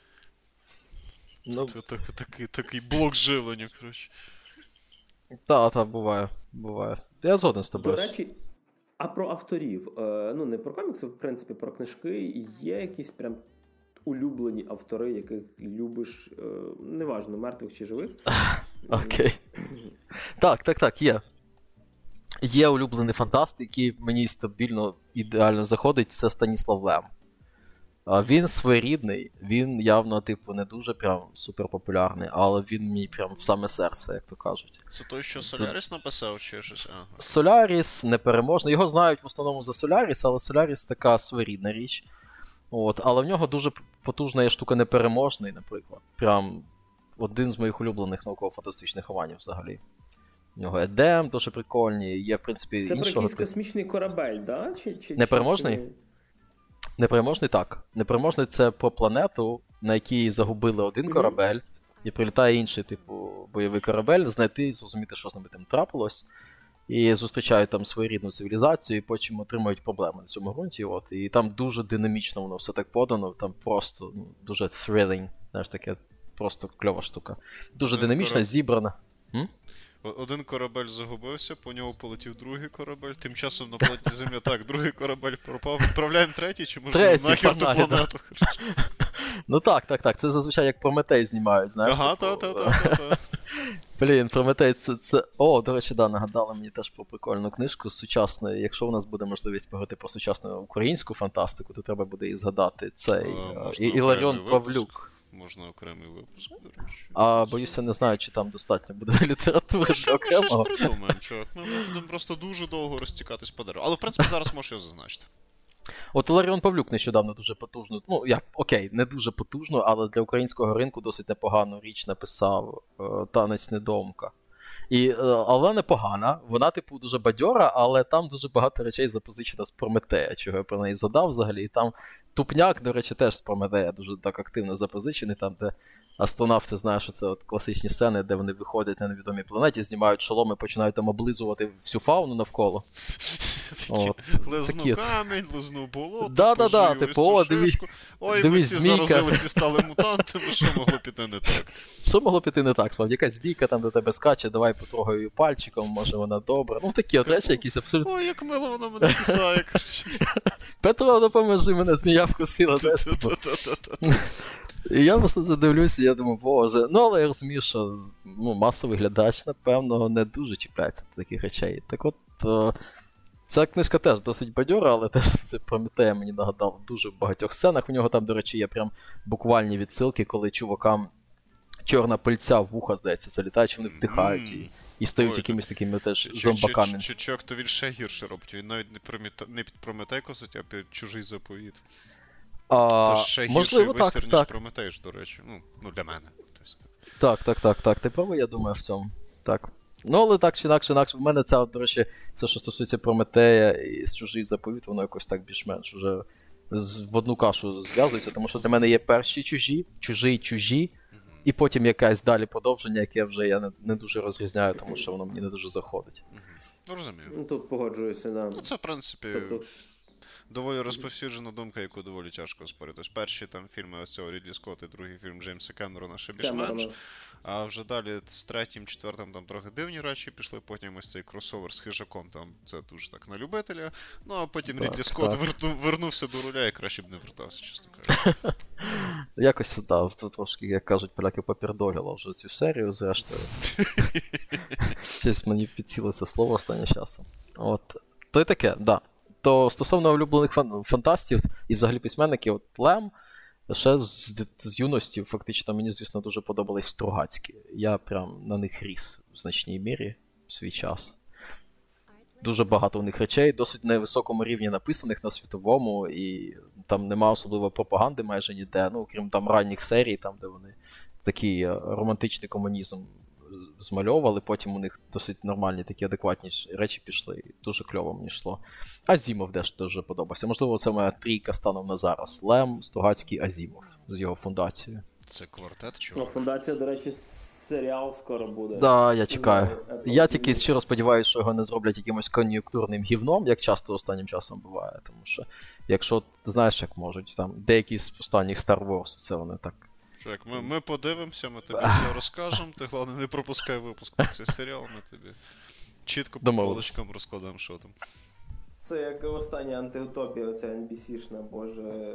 такий блок живлення, коротше. Так, буває. Я згоден з тобою. До речі, а про авторів, не про комікси, в принципі, про книжки, є якісь прям улюблені автори, яких любиш, неважно, мертвих чи живих? Окей. Так, є. Є улюблений фантаст, який мені стабільно, ідеально заходить, це Станіслав Лем. Він своєрідний, він явно, не дуже прям суперпопулярний, але він мій прям в саме серце, як то кажуть. Це той, що Соляріс написав, чи щось? Соляріс непереможний. Його знають в основному за Соляріс, але Соляріс така своєрідна річ. Але в нього дуже потужна є штука непереможний, наприклад. Прям один з моїх улюблених науково-фантастичних романів взагалі. В нього Едем дуже прикольні, є, в принципі, це іншого... Це про якийсь космічний корабель, да? Непереможний? Непереможний, так. Непереможний — це про планету, на якій загубили один корабель, і прилітає інший, бойовий корабель, знайти і зрозуміти, що з ними там трапилось. І зустрічають там своєрідну цивілізацію, і потім отримують проблеми на цьому ґрунті. І там дуже динамічно воно все так подано, там просто дуже thrilling, знаєш, таке просто кльова штука. Дуже динамічна, зібрана. Один корабель загубився, по ньому полетів другий корабель, тим часом на планеті Земля, так, другий корабель пропав, відправляємо третій, чи може нахер ту планету? Ну так. Це зазвичай як Прометей знімають, знаєш. Ага, та. Блін, Прометей це... О, до речі, нагадали мені теж про прикольну книжку з сучасної. Якщо у нас буде можливість поговорити про сучасну українську фантастику, то треба буде і згадати цей Іларіон Павлюк. Можна окремий випуск, до речі. Боюся, не знаю, чи там достатньо буде літератури для окремого. Ми щось придумаємо, чувак. Ми будемо просто дуже довго розтікатись по дереву. Але, в принципі, зараз можеш його зазначити. От Іларіон Павлюк нещодавно дуже потужно, не дуже потужно, але для українського ринку досить непогану річ написав «Танець недоумка». Але непогана, вона, дуже бадьора, але там дуже багато речей запозичено з Прометея, чого я про неї задав взагалі. І там Тупняк, до речі, теж з Прометея дуже так активно запозичений, там, де астронавти, знаєш, що це от класичні сцени, де вони виходять на невідомій планеті, знімають шоломи, починають там облизувати всю фауну навколо. Лизну камінь, лизну болото, да, типу, ой, ми всі заразилися, стали мутантами, що могло піти не так? Що могло піти не так? Справді, якась бійка там до тебе скаче, давай потрогаю її пальчиком, може вона добра. Ну такі от речі, якісь абсолютно... Ой, як мило вона мене кусає, коротше. Петро, допоможи, мене змія вкусила, знаєш. І я просто це дивлюся, і я думаю, боже. Ну, але я розумію, що масовий глядач, напевно, не дуже чіпляється до таких речей. Так от, ця книжка теж досить бадьора, але теж це Прометея мені нагадав дуже в багатьох сценах. У нього там, до речі, є прям буквальні відсилки, коли чувакам чорна пильця в вуха, здається, залітає, чи вони вдихають і стають якимись такими теж зомбаками. Чувак, то він ще гірше робить. Він навіть не під Прометей косить, а під чужий заповіт. То ще гірший висір, ніж Прометей ж, до речі. Ну, для мене. Так. Ти правий, я думаю, в цьому. Так. Ну, але так чи інакше, в мене це, до речі, все, що стосується Прометея і з чужий заповіт, воно якось так більш-менш вже в одну кашу зв'язується, тому що для мене є перші чужі, і потім якесь далі продовження, яке вже я не дуже розрізняю, тому що воно мені не дуже заходить. Ну, розумію. Ну, тут погоджуюся, да. Ну, це, в принципі, доволі розповсюджена думка, яку доволі тяжко оспорити. Тож перші там фільми ось цього Рідлі Скотта і другий фільм Джеймса Кемерона ще більш-менш. А вже далі з третім, четвертим там трохи дивні речі пішли, потім ось цей кросовер з Хижаком, там це дуже так на любителя. Ну, а потім Рідлі Скотт вернувся до руля і краще б не вертався, чесно кажучи. Якось, так, трошки, як кажуть, поляки попердоліло вже цю серію, зрештою. Щось мені підсіло це слово останнім часом. От. То й таке, да. То стосовно улюблених фантастів і взагалі письменників, от Лем, ще з юності, фактично, мені, звісно, дуже подобались Стругацькі. Я прям на них ріс в значній мірі в свій час. Дуже багато у них речей, досить на високому рівні написаних на світовому, і там нема особливо пропаганди майже ніде, ну, крім там ранніх серій, там, де вони такий романтичний комунізм змальовували, потім у них досить нормальні такі адекватні речі пішли, і дуже кльово мені йшло. Азімов теж дуже подобався. Можливо, це моя трійка станом на зараз. Лем, Стругацький, Азімов з його фундацією. Це квартет, чого? Ну, фундація, до речі, серіал скоро буде. Да, я чекаю. Я тільки щиро сподіваюся, що його не зроблять якимось кон'юнктурним гівном, як часто останнім часом буває, тому що, якщо, знаєш, як можуть, там, деякі з останніх Star Wars, це вони так. Що, як ми подивимося, ми тобі все розкажемо, ти, головне, не пропускай випуск на цей серіал, ми тобі чітко по полочкам розкладемо, що там. Це як остання антиутопія, оця NBC-шна, боже,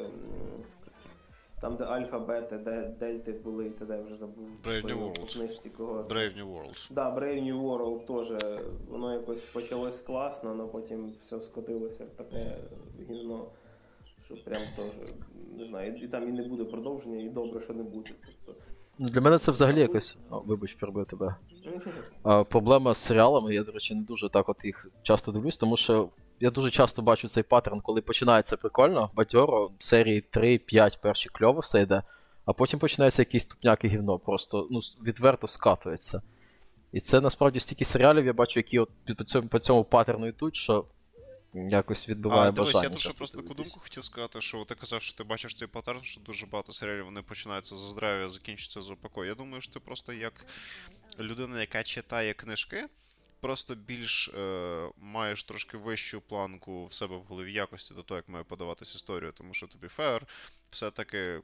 там, де альфа, бета, де дельти були, і тоді я вже забув. Brave New World. Brave New World. Да, Brave New World теж, воно якось почалось класно, але потім все скотилося в таке гівно, що прям теж, не знаю, і там і не буде продовження, і добре, що не буде. Тобто... Для мене це взагалі якось, вибач, перебив тебе. Проблема з серіалами, я, до речі, не дуже так от їх часто дивлюсь, тому що я дуже часто бачу цей паттерн, коли починається прикольно, бадьоро, серії 3-5 перші кльово все йде, а потім починається якийсь тупняк і гівно, просто відверто скатується. І це насправді стільки серіалів я бачу, які от по цьому паттерну йдуть, що якось відбиває бажання. Дивись, я тут ще просто таку думку хотів сказати, що ти казав, що ти бачиш цей паттерн, що дуже багато серіалів вони починаються з здрав'я, закінчуються з упокою. Я думаю, що ти просто як людина, яка читає книжки, просто більш маєш трошки вищу планку в себе в голові якості до того, як має подаватись історію, тому що тобі фер, все-таки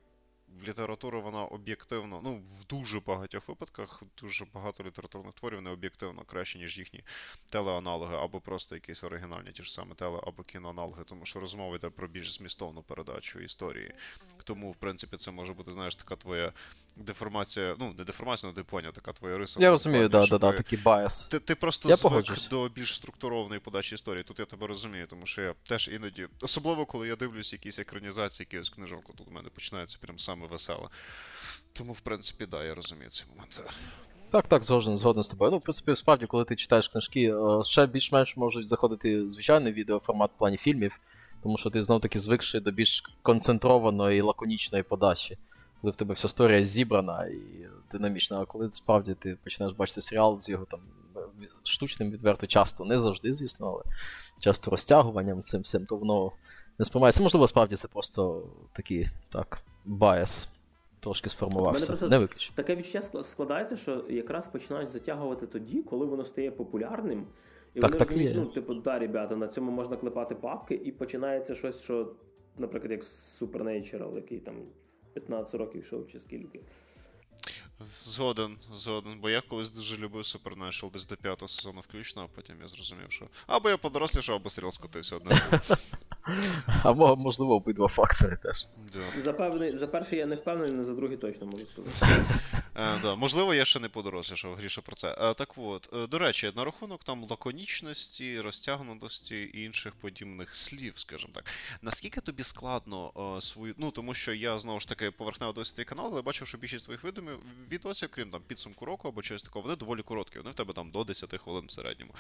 література, вона об'єктивно, ну, в дуже багатьох випадках, дуже багато літературних творів не об'єктивно краще, ніж їхні телеаналоги, або просто якісь оригінальні, ті ж саме або кіноаналоги, тому що розмова йде про більш змістовну передачу історії. Тому, в принципі, це може бути, знаєш, така твоя деформація, ну, не деформація, але ти поняв, така твоя риса. Я розумію, такий байс. Ти просто звик до більш структурованої подачі історії. Тут я тебе розумію, тому що я теж іноді, особливо, коли я дивлюсь якісь екранізації, якихось книжок, тут у мене починається прям саме веселе. Тому, в принципі, да, я розумію цей момент. Так, згоден з тобою. Ну, в принципі, справді, коли ти читаєш книжки, ще більш-менш можуть заходити звичайний відеоформат в плані фільмів, тому що ти знов-таки звикший до більш концентрованої і лаконічної подачі, коли в тебе вся історія зібрана і динамічна, а коли справді ти починаєш бачити серіал з його там штучним відверто, часто, не завжди, звісно, але часто розтягуванням цим всім, то воно не сприймається. Можливо, справді це просто такий, так, байс. Трошки сформувався, не виключно. Таке відчуття складається, що якраз починають затягувати тоді, коли воно стає популярним. І так, вони розуміють, ну, типу, да, ребята, на цьому можна клепати папки, і починається щось, що, наприклад, як Supernatural, який там 15 років йшов чи скільки. Згоден, бо я колись дуже любив Supernatural десь до 5-го сезону включно, а потім я зрозумів, що або я подорослішав, або серіал скотився одне. Або, можливо, обидва фактори теж. За перший я не впевнений, але за другий точно можу сказати. Да, можливо, я ще не подорослішав, Гріша, про це. Так от, до речі, на рахунок там лаконічності, розтягнутості і інших подібних слів, скажімо так. Наскільки тобі складно свою... Ну, тому що я, знову ж таки, поверхнево дивився твій канал, але бачив, що більшість твоїх відосів, крім там підсумку року або чогось такого, вони доволі короткі. Вони в тебе там до 10 хвилин в середньому.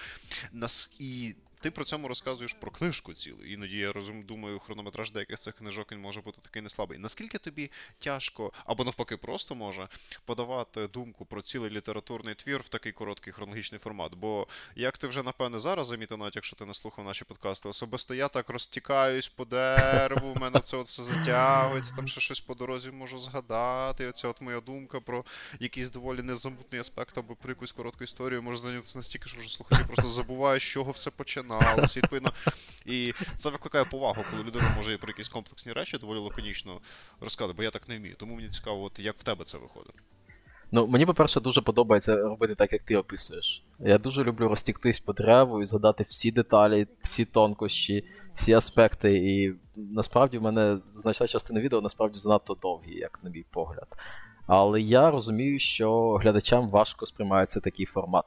І ти при цьому розказуєш про книжку цілу. Іноді я думаю, хронометраж деяких цих книжок він може бути такий неслабий. Наскільки тобі тяжко, або навпаки просто може, подавати думку про цілий літературний твір в такий короткий хронологічний формат? Бо, як ти вже, напевне, зараз замітив, навіть якщо ти не слухав наші подкасти, особисто я так розтікаюсь по дереву, у мене це все затягується, там ще щось по дорозі можу згадати, оця от моя думка про якийсь доволі незамутний аспект або про якусь коротку історію може зайнятися настільки, що вже слухачі просто забувають, з чого все починалося, відповідно. І це викликає повагу, коли людина може про якісь комплексні речі доволі лаконічно розказати, бо я так не вмію. Тому мені цікаво, от як в тебе це виходить. Ну, мені, по-перше, дуже подобається робити так, як ти описуєш. Я дуже люблю розтіктись по дереву і згадати всі деталі, всі тонкощі, всі аспекти. І насправді в мене значна частина відео насправді занадто довгі, як на мій погляд. Але я розумію, що глядачам важко сприймається такий формат.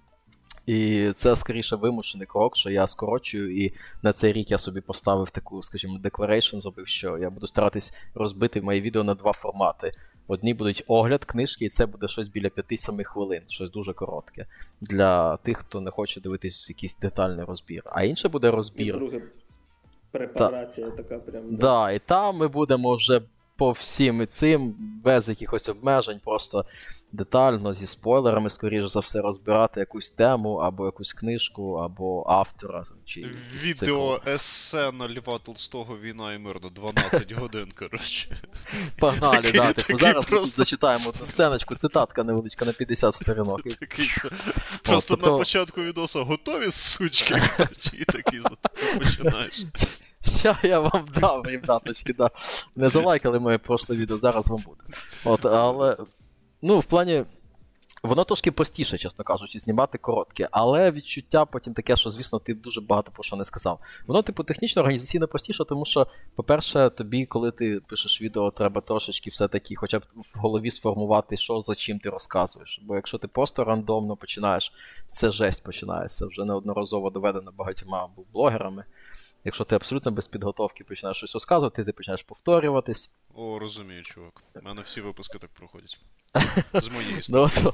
І це, скоріше, вимушений крок, що я скорочую, і на цей рік я собі поставив таку, скажімо, declaration, зробив, що я буду старатись розбити мої відео на два формати. Одні будуть огляд книжки, і це буде щось біля 5-7 хвилин, щось дуже коротке, для тих, хто не хоче дивитись якийсь детальний розбір. А інше буде розбір. І друге, препарація така прям. Да, і там ми будемо вже по всім і цим, без якихось обмежень, просто детально, зі спойлерами, скоріш за все, розбирати якусь тему, або якусь книжку, або автора. Чи відео есе на Льва Толстого «Війна і мир» на 12 годин, коротше. Погнали, да. Зараз просто зачитаємо одну сценочку, цитатка невеличка на 50 сторінок. Просто на початку відоса готові, сучки, і такий починаєш. Що я вам дав, ребяточки, да. Не залайкали моє прошле відео, зараз вам буде. От, але, ну, в плані, воно трошки простіше, чесно кажучи, знімати коротке, але відчуття потім таке, що, звісно, ти дуже багато про що не сказав. Воно, типу, технічно, організаційно простіше, тому що, по-перше, тобі, коли ти пишеш відео, треба трошечки все-таки хоча б в голові сформувати, що за чим ти розказуєш. Бо якщо ти просто рандомно починаєш, це жесть починається, вже неодноразово доведено багатьма блогерами. Якщо ти абсолютно без підготовки починаєш щось розказувати, ти починаєш повторюватись. О, розумію, чувак. У мене всі випуски так проходять. З моєї сторони.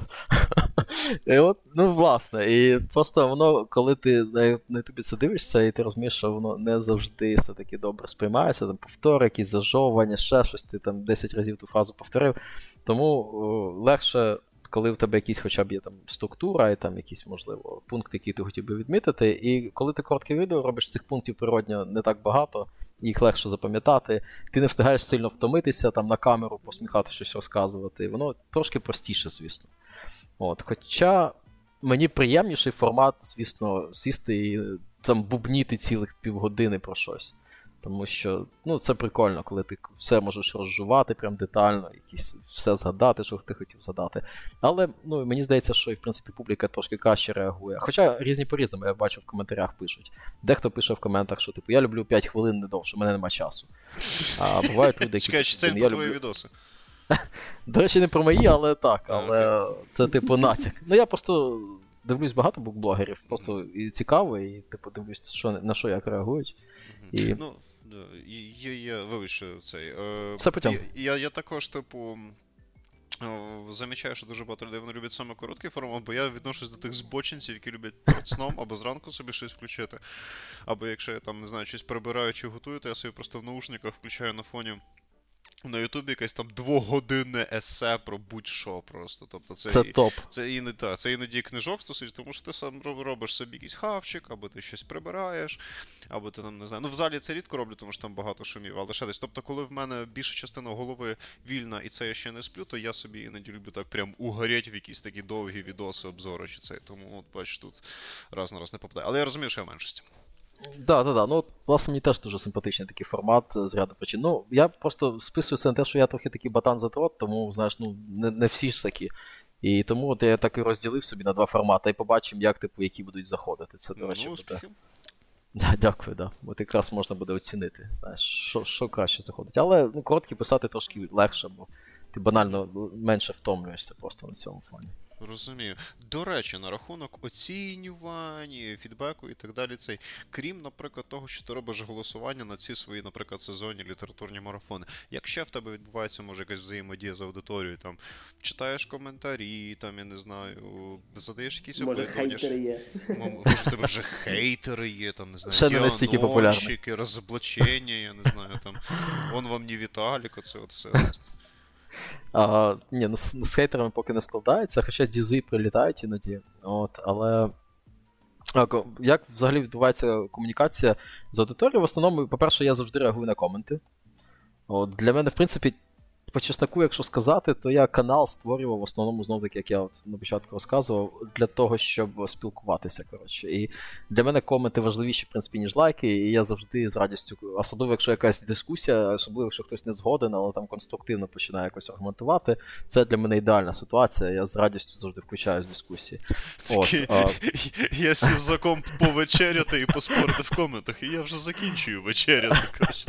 Ну, власне, і просто воно, коли ти на ютубі це дивишся, і ти розумієш, що воно не завжди все-таки добре сприймається, там повтори, якісь зажовування, ще щось, ти там 10 разів ту фразу повторив. Тому легше, коли в тебе якісь хоча б є там структура і там якісь, можливо, пункти, які ти хотів би відмітити, і коли ти коротке відео робиш, цих пунктів природньо не так багато, їх легше запам'ятати, ти не встигаєш сильно втомитися, там на камеру посміхати, щось розказувати, воно трошки простіше, звісно. От, хоча мені приємніший формат, звісно, сісти і там бубніти цілих півгодини про щось. Тому що, ну, це прикольно, коли ти все можеш розжувати прям детально, якісь все згадати, що ти хотів згадати. Але, ну, мені здається, що і, в принципі, публіка трошки краще реагує. Хоча різні по-різному, я бачу, в коментарях пишуть. Дехто пише в коментах, що, типу, я люблю 5 хвилин не довше, у мене нема часу. А бувають люди, які... Чекай, чи це про твої відоси? До речі, не про мої, але так, але це, типу, натяк. Ну, я просто дивлюсь багато букблогерів, просто і цікаво, і, типу, дивлюсь, на що як реагують. І... Ну, я вибачте цей. Все потім. Я також, типу, замічаю, що дуже багато людей вони люблять саме короткий формат, бо я відношусь до тих збочинців, які люблять перед сном або зранку собі щось включити. Або якщо я там, не знаю, щось прибираю чи готую, то я собі просто в наушниках включаю на фоні. На Ютубі якесь там 2-годинне есе про будь-що просто. Тобто це топ. Це іноді книжок стосується, тому що ти сам робиш собі якийсь хавчик, або ти щось прибираєш, або ти там, не знаю. Ну, в залі це рідко роблю, тому що там багато шумів, але ще десь. Тобто, коли в мене більша частина голови вільна і це я ще не сплю, то я собі іноді люблю так прям угоріть в якісь такі довгі відоси, обзори чи це. Тому, от, бачиш, тут раз на раз не попадає. Але я розумію, що я в меншості. Да. Ну, власне, мені теж дуже симпатичний такий формат з ряду причин. Ну, я просто списую це на те, що я трохи такий ботан-затрот, тому, знаєш, ну, не всі ж такі. І тому от я так і розділив собі на 2 формати, і побачимо, як, типу, які будуть заходити. Це, до речі, буде. Да, дякую, да. От якраз можна буде оцінити, знаєш, що краще заходить. Але, ну, короткі писати трошки легше, бо ти банально менше втомлюєшся просто на цьому фоні. Розумію. До речі, на рахунок оцінювань, фідбеку і так далі, цей, крім, наприклад, того, що ти робиш голосування на ці свої, наприклад, сезонні літературні марафони, як ще в тебе відбувається, може, якась взаємодія з аудиторією, там, читаєш коментарі, там, я не знаю, задаєш якісь опитування. Може, хейтери є. Може, в тебе вже хейтери є, там, не знаю, діагностики, розоблачення, я не знаю, там, вон вам не Віталік, оце от все. Ні, з хейтерами поки не складається, хоча дізи прилітають іноді. От, але як взагалі відбувається комунікація з аудиторією? В основному, по-перше, я завжди реагую на коменти. От, для мене, в принципі, по чесноку, якщо сказати, то я канал створював в основному, знов-таки, як я от на початку розказував, для того, щоб спілкуватися, коротше. І для мене коменти важливіші, в принципі, ніж лайки, і я завжди з радістю, особливо, якщо якась дискусія, особливо, якщо хтось не згоден, але там конструктивно починає якось аргументувати, це для мене ідеальна ситуація, я з радістю завжди включаюсь в дискусії. Я сів за комп повечеряти і поспорити в коментах, і я вже закінчую вечеряти, коротше.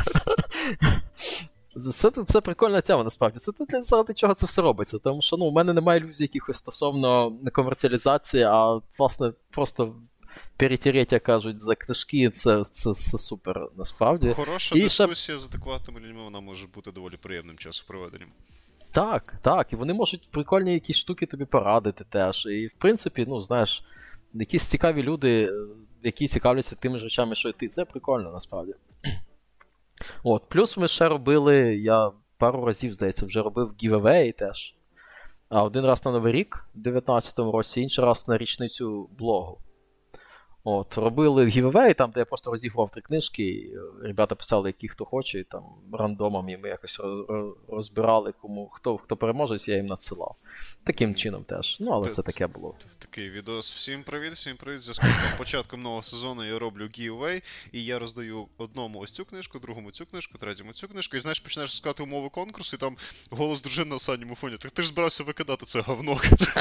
Це прикольна тема, насправді. Це заради чого це все робиться. Тому що, ну, у мене немає ілюзій якихось стосовно комерціалізації, а, власне, просто перетереть, як кажуть, за книжки, це супер, насправді. Хороша дискусія з адекватними людьми, вона може бути доволі приємним часопроведенням. Так, і вони можуть прикольні якісь штуки тобі порадити теж. І, в принципі, ну, знаєш, якісь цікаві люди, які цікавляться тими ж речами, що і ти, це прикольно, насправді. От, плюс ми ще робили, я пару разів, здається, вже робив giveaway теж. А один раз на Новий рік в 19-му році, інший раз на річницю блогу. От, робили giveaway, там, де я просто розігрував 3 книжки, і ребята писали, які хто хоче, і там рандомом, і ми якось розбирали, хто переможе, я їм надсилав. Таким чином теж. Ну, але це таке було. Такий відос. Всім привіт. В зв'язку з початком нового сезону я роблю giveaway, і я роздаю одному ось цю книжку, другому цю книжку, третьому цю книжку, і, знаєш, починаєш шукати умови конкурсу, і там голос дружини на останньому фоні. Так ти ж збирався викидати це говно.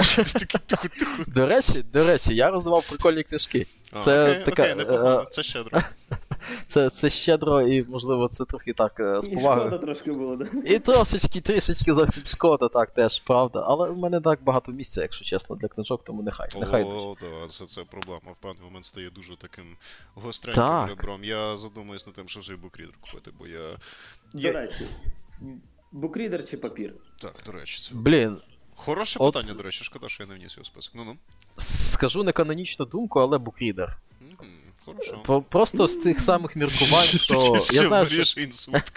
До речі, я роздавав прикольні книжки. Окей, непогано, це щедро. Це щедро і, можливо, це трохи так з повагою. І шкода трошки було, да? І трішечки зовсім шкода, так, теж, правда. Але в мене так багато місця, якщо чесно, для книжок, тому нехай. О, так, це проблема. В певний момент стає дуже таким гостреньким ребром. Я задумуюсь над тим, що вже і букрідер купити, бо я... До речі, букрідер чи папір? Так, до речі, це... Блін. Хороше питання, до речі, шкода, що я не вніс його в список. Ну-ну. Скажу неканонічну думку, але букрідер. Хорошо. Просто з тих самих міркувань, що... Я знаю, що... інсульт,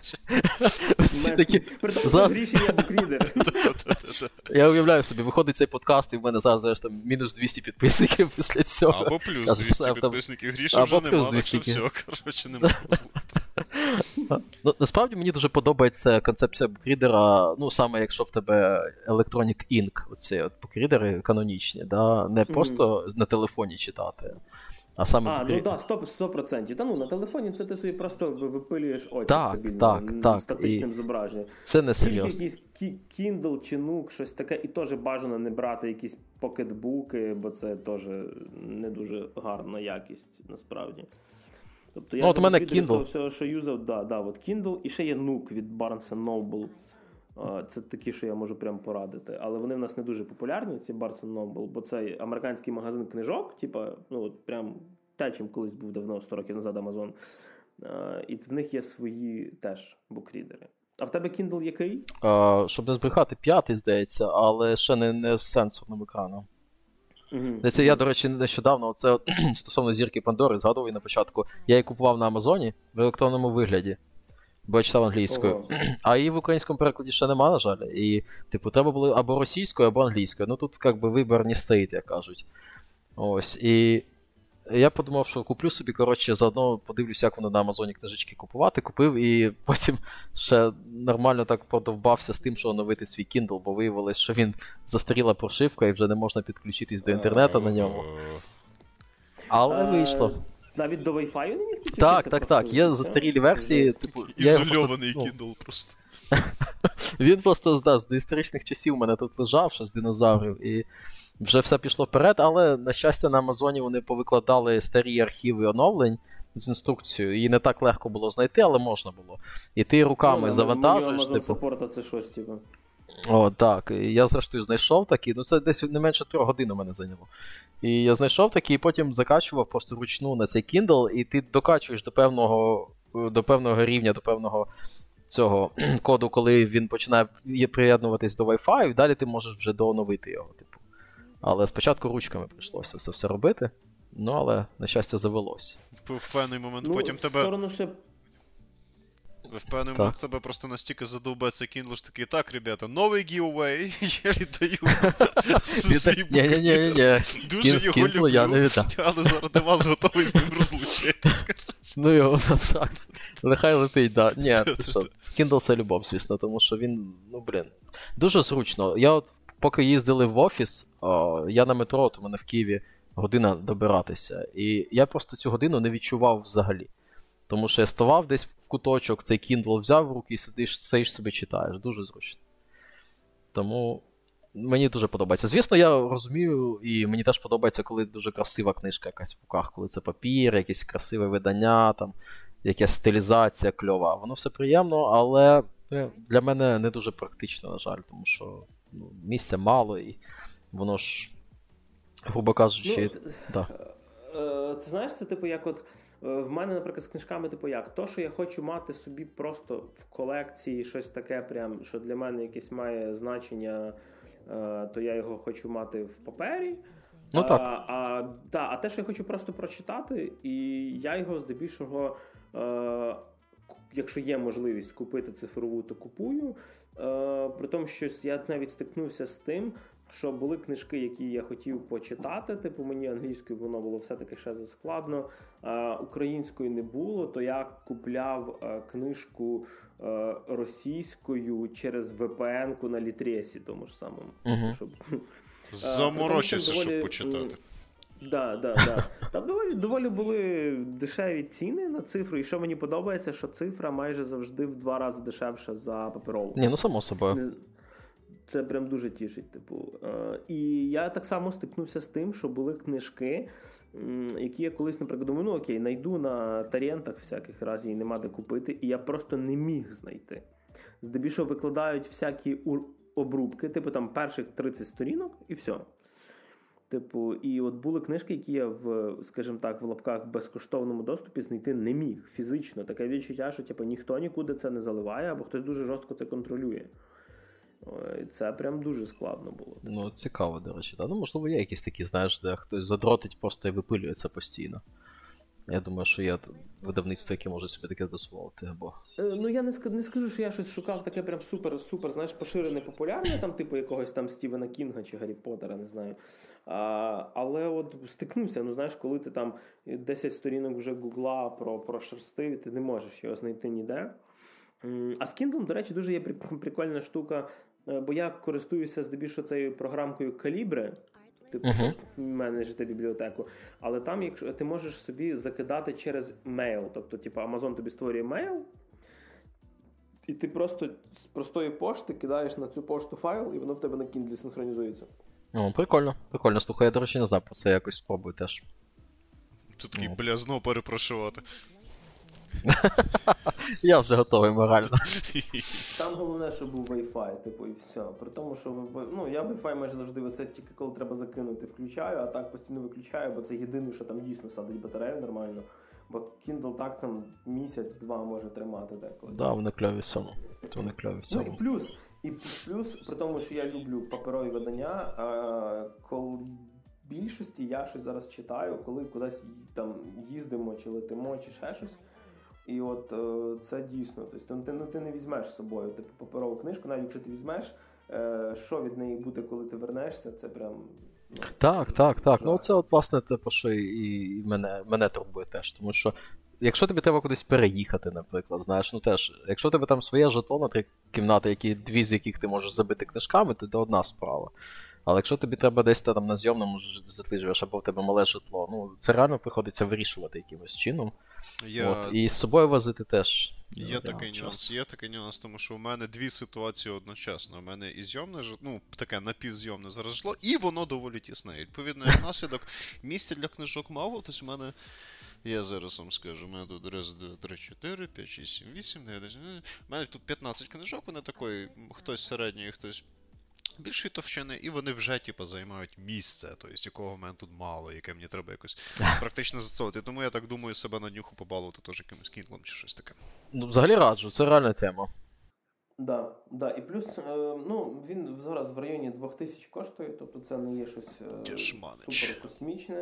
Притому в ріші є букрідер. Я уявляю собі, виходить цей подкаст, і в мене зараз, знаєш, там, мінус 200 підписників після цього. Або плюс 200 підписників. Гріша вже нема, так що все, коротше, не можна послухати. Насправді мені дуже подобається концепція букрідера, ну, саме якщо в тебе Electronic Ink, оці от букрідери канонічні, да? Не просто на телефоні читати, А саме ну так, 100%. Та на телефоні це ти собі просто випилюєш очі так, стабільно, так. статичним зображенням. Це не Тільки серйозно. якийсь Kindle чи Nook, щось таке, і теж бажано не брати якісь покетбуки, бо це теж не дуже гарна якість, насправді. Тобто я от у мене з того Kindle. всього, що юзав, от Kindle, і ще є Nook від Barnes & Noble. Це такі, що я можу прям порадити. Але вони в нас не дуже популярні, ці Barnes & Noble, бо це американський магазин книжок, от прям те, чим колись був давно, 100 років назад Amazon. І в них є свої теж букрідери. А в тебе Kindle який? Щоб не збрехати, 5-й, здається, але ще не з сенсорним екраном. Це я, до речі, нещодавно, це стосовно зірки Пандори, згадував на початку, я її купував на Амазоні в електронному вигляді, бо я читав англійською. А її в українському перекладі ще нема, на жаль. І, треба було або російською, або англійською. Ну тут, вибір не стоїть, як кажуть. Ось, і я подумав, що куплю собі, заодно подивлюся, як воно на Амазоні книжечки купувати. Купив і потім ще нормально так подовбався з тим, що оновити свій Kindle, бо виявилось, що він застаріла прошивка і вже не можна підключитись до інтернету на ньому. Але вийшло. Навіть до Wi-Fi не міг підключитися? Так. Є застарілі версії. Ізольований Kindle просто. Він просто з доісторичних часів у мене тут лежав, ще з динозаврів, і вже все пішло вперед, але, на щастя, на Амазоні вони повикладали старі архіви оновлень з інструкцією, її не так легко було знайти, але можна було. І ти руками завантажуєш. Amazon Support це щось, О, так. І я, зрештою, знайшов такі, це десь не менше 3 годин у мене зайняло. І я знайшов такі, і потім закачував просто вручну на цей Kindle, і ти докачуєш до певного рівня, до певного цього коду, коли він починає приєднуватись до Wi-Fi, і далі ти можеш вже дооновити його, Але спочатку ручками прийшлося це все робити, але, на щастя, завелось. В певний момент потім тебе... В певний момент тебе просто настільки задовбе цей Kindle, що такий, так, ребята, новий giveaway, я віддаю свій Ні. Дуже його люблю, але заради вас готовий з ним розлучитись. Ну його, так. Нехай летить, да. Ні, ти що, Kindle це любов, звісно, тому що він, дуже зручно. Я поки їздили в офіс, я на метро, от у мене в Києві година добиратися, і я просто цю годину не відчував взагалі. Тому що я ставав десь в куточок, цей Kindle взяв в руки і сидиш собі читаєш. Дуже зручно. Тому мені дуже подобається. Звісно, я розумію, і мені теж подобається, коли дуже красива книжка якась в руках, коли це папір, якесь красиве видання, якась стилізація кльова. Воно все приємно, але для мене не дуже практично, на жаль, тому що місця мало і воно ж, грубо кажучи... Це знаєш, це як от в мене, наприклад, з книжками, як? То, що я хочу мати собі просто в колекції щось таке, прям, що для мене якесь має значення, то я його хочу мати в папері. А те, що я хочу просто прочитати, і я його здебільшого, якщо є можливість купити цифрову, то купую. При тому, що я навіть стикнувся з тим, що були книжки, які я хотів почитати, мені англійською воно було все-таки ще заскладно, українською не було, то я купляв книжку російською через VPN-ку на Літресі, тому ж самому. Щоб... Заморочився, щоб почитати. Да. Там доволі були дешеві ціни на цифру, і що мені подобається, що цифра майже завжди в 2 рази дешевша за паперову. Само собою. Це прям дуже тішить, І я так само стикнувся з тим, що були книжки, які я колись, наприклад, думаю, найду на торрентах всяких разів, і нема де купити, і я просто не міг знайти. Здебільшого викладають всякі обрубки, там перших 30 сторінок, і все. І от були книжки, які я скажімо так, в лапках безкоштовному доступі знайти не міг фізично. Таке відчуття, що ніхто нікуди це не заливає, або хтось дуже жорстко це контролює. Це прям дуже складно було. Цікаво, до речі. Можливо, є якісь такі, знаєш, де хтось задротить просто і випилює це постійно. Я думаю, що є видавництво, яке може собі таке дозволити, або... Я не скажу, що я щось шукав таке прям супер, знаєш, поширене, популярне, якогось Стівена Кінга чи Гаррі Поттера, не знаю. Але от стикнувся, знаєш, коли ти 10 сторінок вже Гугла прошерстив, ти не можеш його знайти ніде. А з Kindle, до речі, дуже є прикольна штука, бо я користуюся здебільшого цією програмкою Calibre, типу, менеджити бібліотеку. Але там, якщо ти можеш собі закидати через мейл, тобто, типу, Amazon тобі створює мейл, і ти просто з простої пошти кидаєш на цю пошту файл, і воно в тебе на Kindle синхронізується. Прикольно. Слухай, я, до речі, не знав про це, якось спробую теж. Тут такий, бля, знову перепрошувати. Я вже готовий морально. Там головне, щоб був Wi-Fi, типу, і все. При тому, що я Wi-Fi майже завжди, оце тільки коли треба закинути, включаю, а так постійно виключаю, бо це єдине, що там дійсно садить батарею нормально. Бо Kindle так там місяць-два може тримати деколи. Да, вони кльові в цьому. Ну і плюс, при тому, що я люблю паперові видання, коли в більшості я щось зараз читаю, коли кудись там їздимо, чи летимо, чи ще щось. І от це дійсно, тобто ти не візьмеш з собою типу паперову книжку, навіть якщо ти візьмеш, що від неї буде, коли ти вернешся, це прям... Так. Ну це от власне те, про що і мене турбує теж, тому що якщо тобі треба кудись переїхати, наприклад, знаєш, ну теж, якщо у тебе там своє житло на 3 кімнати, дві з яких ти можеш забити книжками, то це одна справа. Але якщо тобі треба десь там на зйомному житлі живеш, або в тебе мале житло, ну це реально приходиться вирішувати якимось чином. І з собою возити теж. Є такий нюанс, тому що у мене дві ситуації одночасно. У мене і зйомне житло, ну таке напівзйомне зараз житло, і воно доволі тісне. І, відповідно, як наслідок, місця для книжок мало, тобто в мене, я зараз вам скажу, у мене тут 1, 2, 3, 4, 5, 6, 7, 8, 9, у мене тут 15 книжок, вони такої, хтось середньої, хтось більшої товщини, і вони вже, займають місце, тобто, якого в мене тут мало, яке мені треба якось практично зацовувати. Тому я так думаю себе на днюху побалувати теж якимось Kindle чи щось таке. Ну, взагалі раджу, це реальна тема. Да. І плюс, він зараз в районі 2000 коштує, тобто це не є щось супер космічне.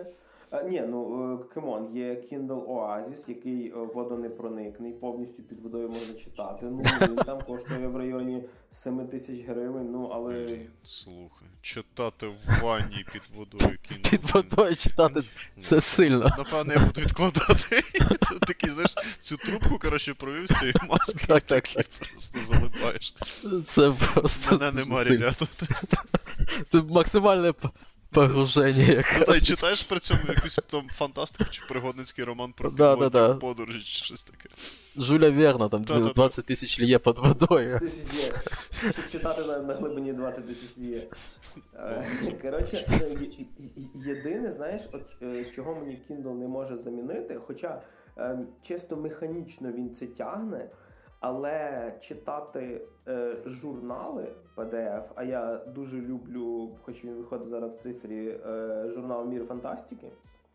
Камон, є Kindle Oasis, який водонепроникний, повністю під водою можна читати. Він там коштує в районі 7000 гривень, але... Слухай, читати в ванні під водою Kindle. Під водою читати, це сильно. Напевно, я буду відкладати. Такий, знаєш, цю трубку, провів з цієї маски, такий просто залипаєш. Це просто... Мене нема, ребята. Це максимальне... погруження. Та й читаєш при цьому якусь там фантастику чи пригодницький роман про підводні подорожі чи щось таке. Жюля Верна, там 20 тисяч ліє під водою. Читати на глибині 20 тисяч ліє. Коротше, єдине, знаєш, чого мені Kindle не може замінити, хоча чисто механічно він це тягне, але читати журнали PDF, а я дуже люблю, хоч він виходить зараз в цифрі, журнал «Мір фантастики»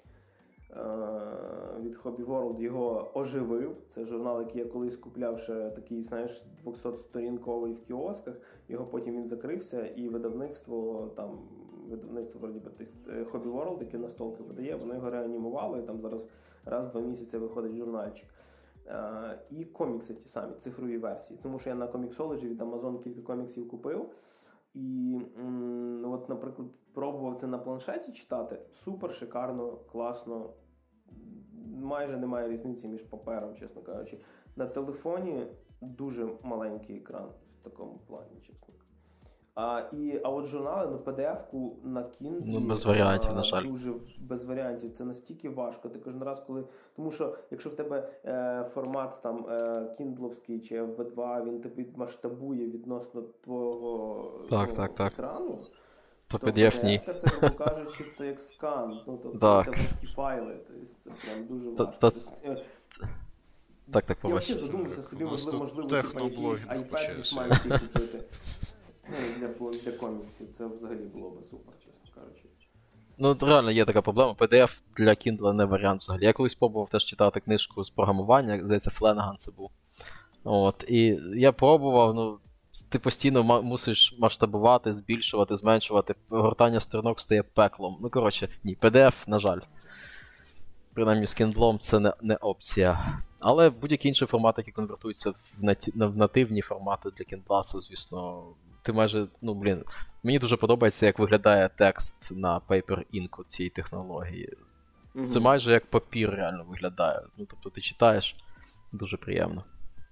від Hobby World, його оживив. Це журнал, який я колись купляв ще такий, знаєш, 200-сторінковий в кіосках. Його потім він закрився, і видавництво вроді би, Hobby World, яке настолки видає, воно його реанімувало, і там зараз раз в 2 місяці виходить журнальчик. І комікси ті самі, цифрові версії. Тому що я на Comixology від Amazon кілька коміксів купив. І от, наприклад, пробував це на планшеті читати. Супер, шикарно, класно. Майже немає різниці між папером, чесно кажучи. На телефоні дуже маленький екран в такому плані, чесно. А от журнали, PDF-ку на Kindle без варіантів, на жаль. Дуже без варіантів. Це настільки важко. Ти кожен раз, тому що якщо в тебе формат там кіндловський чи FB2, він тебе масштабує відносно твого екрану, то PDF, це, грубо кажучи, це як скан. Це важкі файли. Це прям дуже важко. Так, я взагалі задумався собі, можливо, якийсь iPad зі смайликів купити. Для коміксів це взагалі було би супер, чесно кажучи. Ну, реально є така проблема. PDF для Kindle не варіант взагалі. Я колись пробував теж читати книжку з програмування, здається, Фленаган це був. І я пробував, ти постійно мусиш масштабувати, збільшувати, зменшувати. Гортання сторінок стає пеклом. Ні, PDF, на жаль. Принаймні з Kindle це не опція. Але будь-які інші формати, які конвертуються в нативні формати для Kindle, це, звісно... Ти майже, мені дуже подобається, як виглядає текст на Paper Ink цієї технології. Це майже як папір реально виглядає. Тобто ти читаєш, дуже приємно.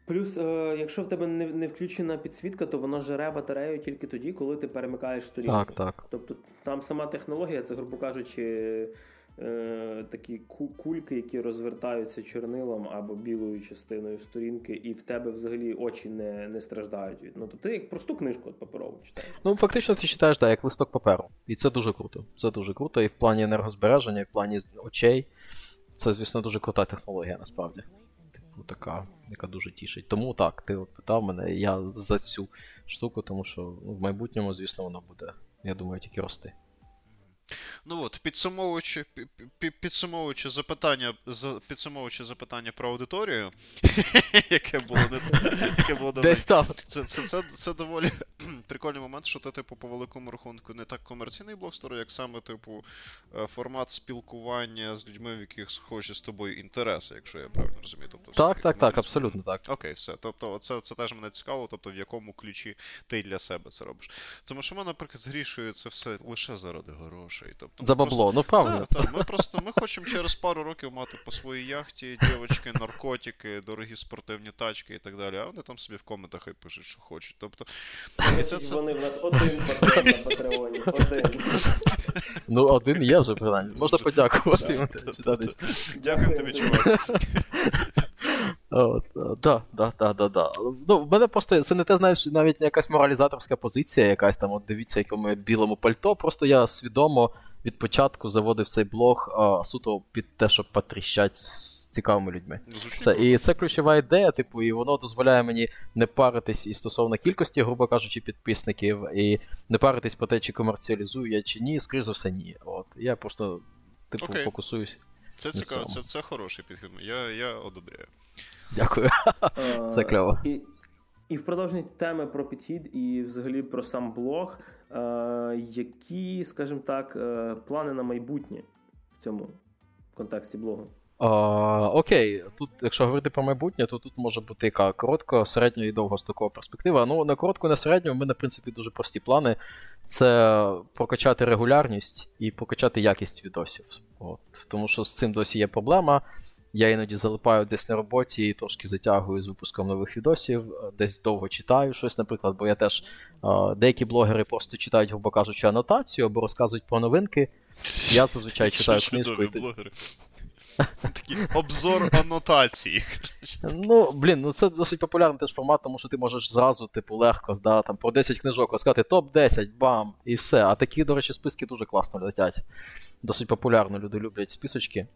Плюс, якщо в тебе не включена підсвітка, то воно жере батарею тільки тоді, коли ти перемикаєш сторінку. Так. Тобто там сама технологія, це, грубо кажучи, такі кульки, які розвертаються чорнилом або білою частиною сторінки, і в тебе взагалі очі не страждають. Ну, то ти як просту книжку паперову читаєш. Ну, фактично ти читаєш, як листок паперу. І це дуже круто. Це дуже круто і в плані енергозбереження, і в плані очей. Це, звісно, дуже крута технологія, насправді. Така, яка дуже тішить. Тому так, ти от питав мене, я за цю штуку, тому що в майбутньому, звісно, воно буде, я думаю, тільки рости. Ну от, підсумовуючи запитання про аудиторію, яке було Десь там. Це доволі прикольний момент, що ти, типу, по великому рахунку не так комерційний блогстор, як саме, типу, формат спілкування з людьми, в яких схожі з тобою інтереси, якщо я правильно розумію. Тобто, так, абсолютно так. Окей, все. Тобто, це теж мене цікаво, тобто, в якому ключі ти для себе це робиш. Тому що ми, наприклад, з Грішою це все лише заради грошей. Тобто, за бабло, ну правильно. Ми хочемо через пару років мати по своїй яхті дівочки, наркотики, дорогі спортивні тачки і так далі, а вони там собі в коментах хай пишуть, що хочуть. Тобто, вони в нас один патрон на Патреоні, один. Ну, один є вже, принаймні. Можна подякувати. Дякую тобі, чувак. Да. Ну, в мене просто, це не те, знаєш, навіть не якась моралізаторська позиція, якась там, от дивіться, якому я білому пальто, просто я свідомо від початку заводив цей блог суто під те, щоб потріщать з цікавими людьми. Все. І це ключова ідея, типу, і воно дозволяє мені не паритись і стосовно кількості, грубо кажучи, підписників, і не паритись по те, чи комерціалізую я, чи ні, скоріш за все, ні. От. Я просто, типу, фокусуюсь. Це цікаво, це хороший підхід. Я одобряю. Дякую. Це кльово. І в продовженні теми про підхід і взагалі про сам блог, які, скажімо так, плани на майбутнє в цьому контексті блогу? Окей, тут, якщо говорити про майбутнє, то тут може бути яка коротко, середньо і довгострокова перспектива. Ну, на коротку, на середню в мене, в принципі, дуже прості плани. Це прокачати регулярність і прокачати якість відосів. От. Тому що з цим досі є проблема. Я іноді залипаю десь на роботі і трошки затягую з випуском нових відосів, десь довго читаю щось, наприклад, бо я теж, деякі блогери просто читають, грубо кажучи, анотацію або розказують про новинки. Я зазвичай читаю книжку. Блогери. Такий обзор анотації. Ну, це досить популярний теж формат, тому що ти можеш зразу, типу, легко, там, про 10 книжок розказати топ-10, бам, і все. А такі, до речі, списки дуже класно летять. Досить популярно, люди люблять списочки.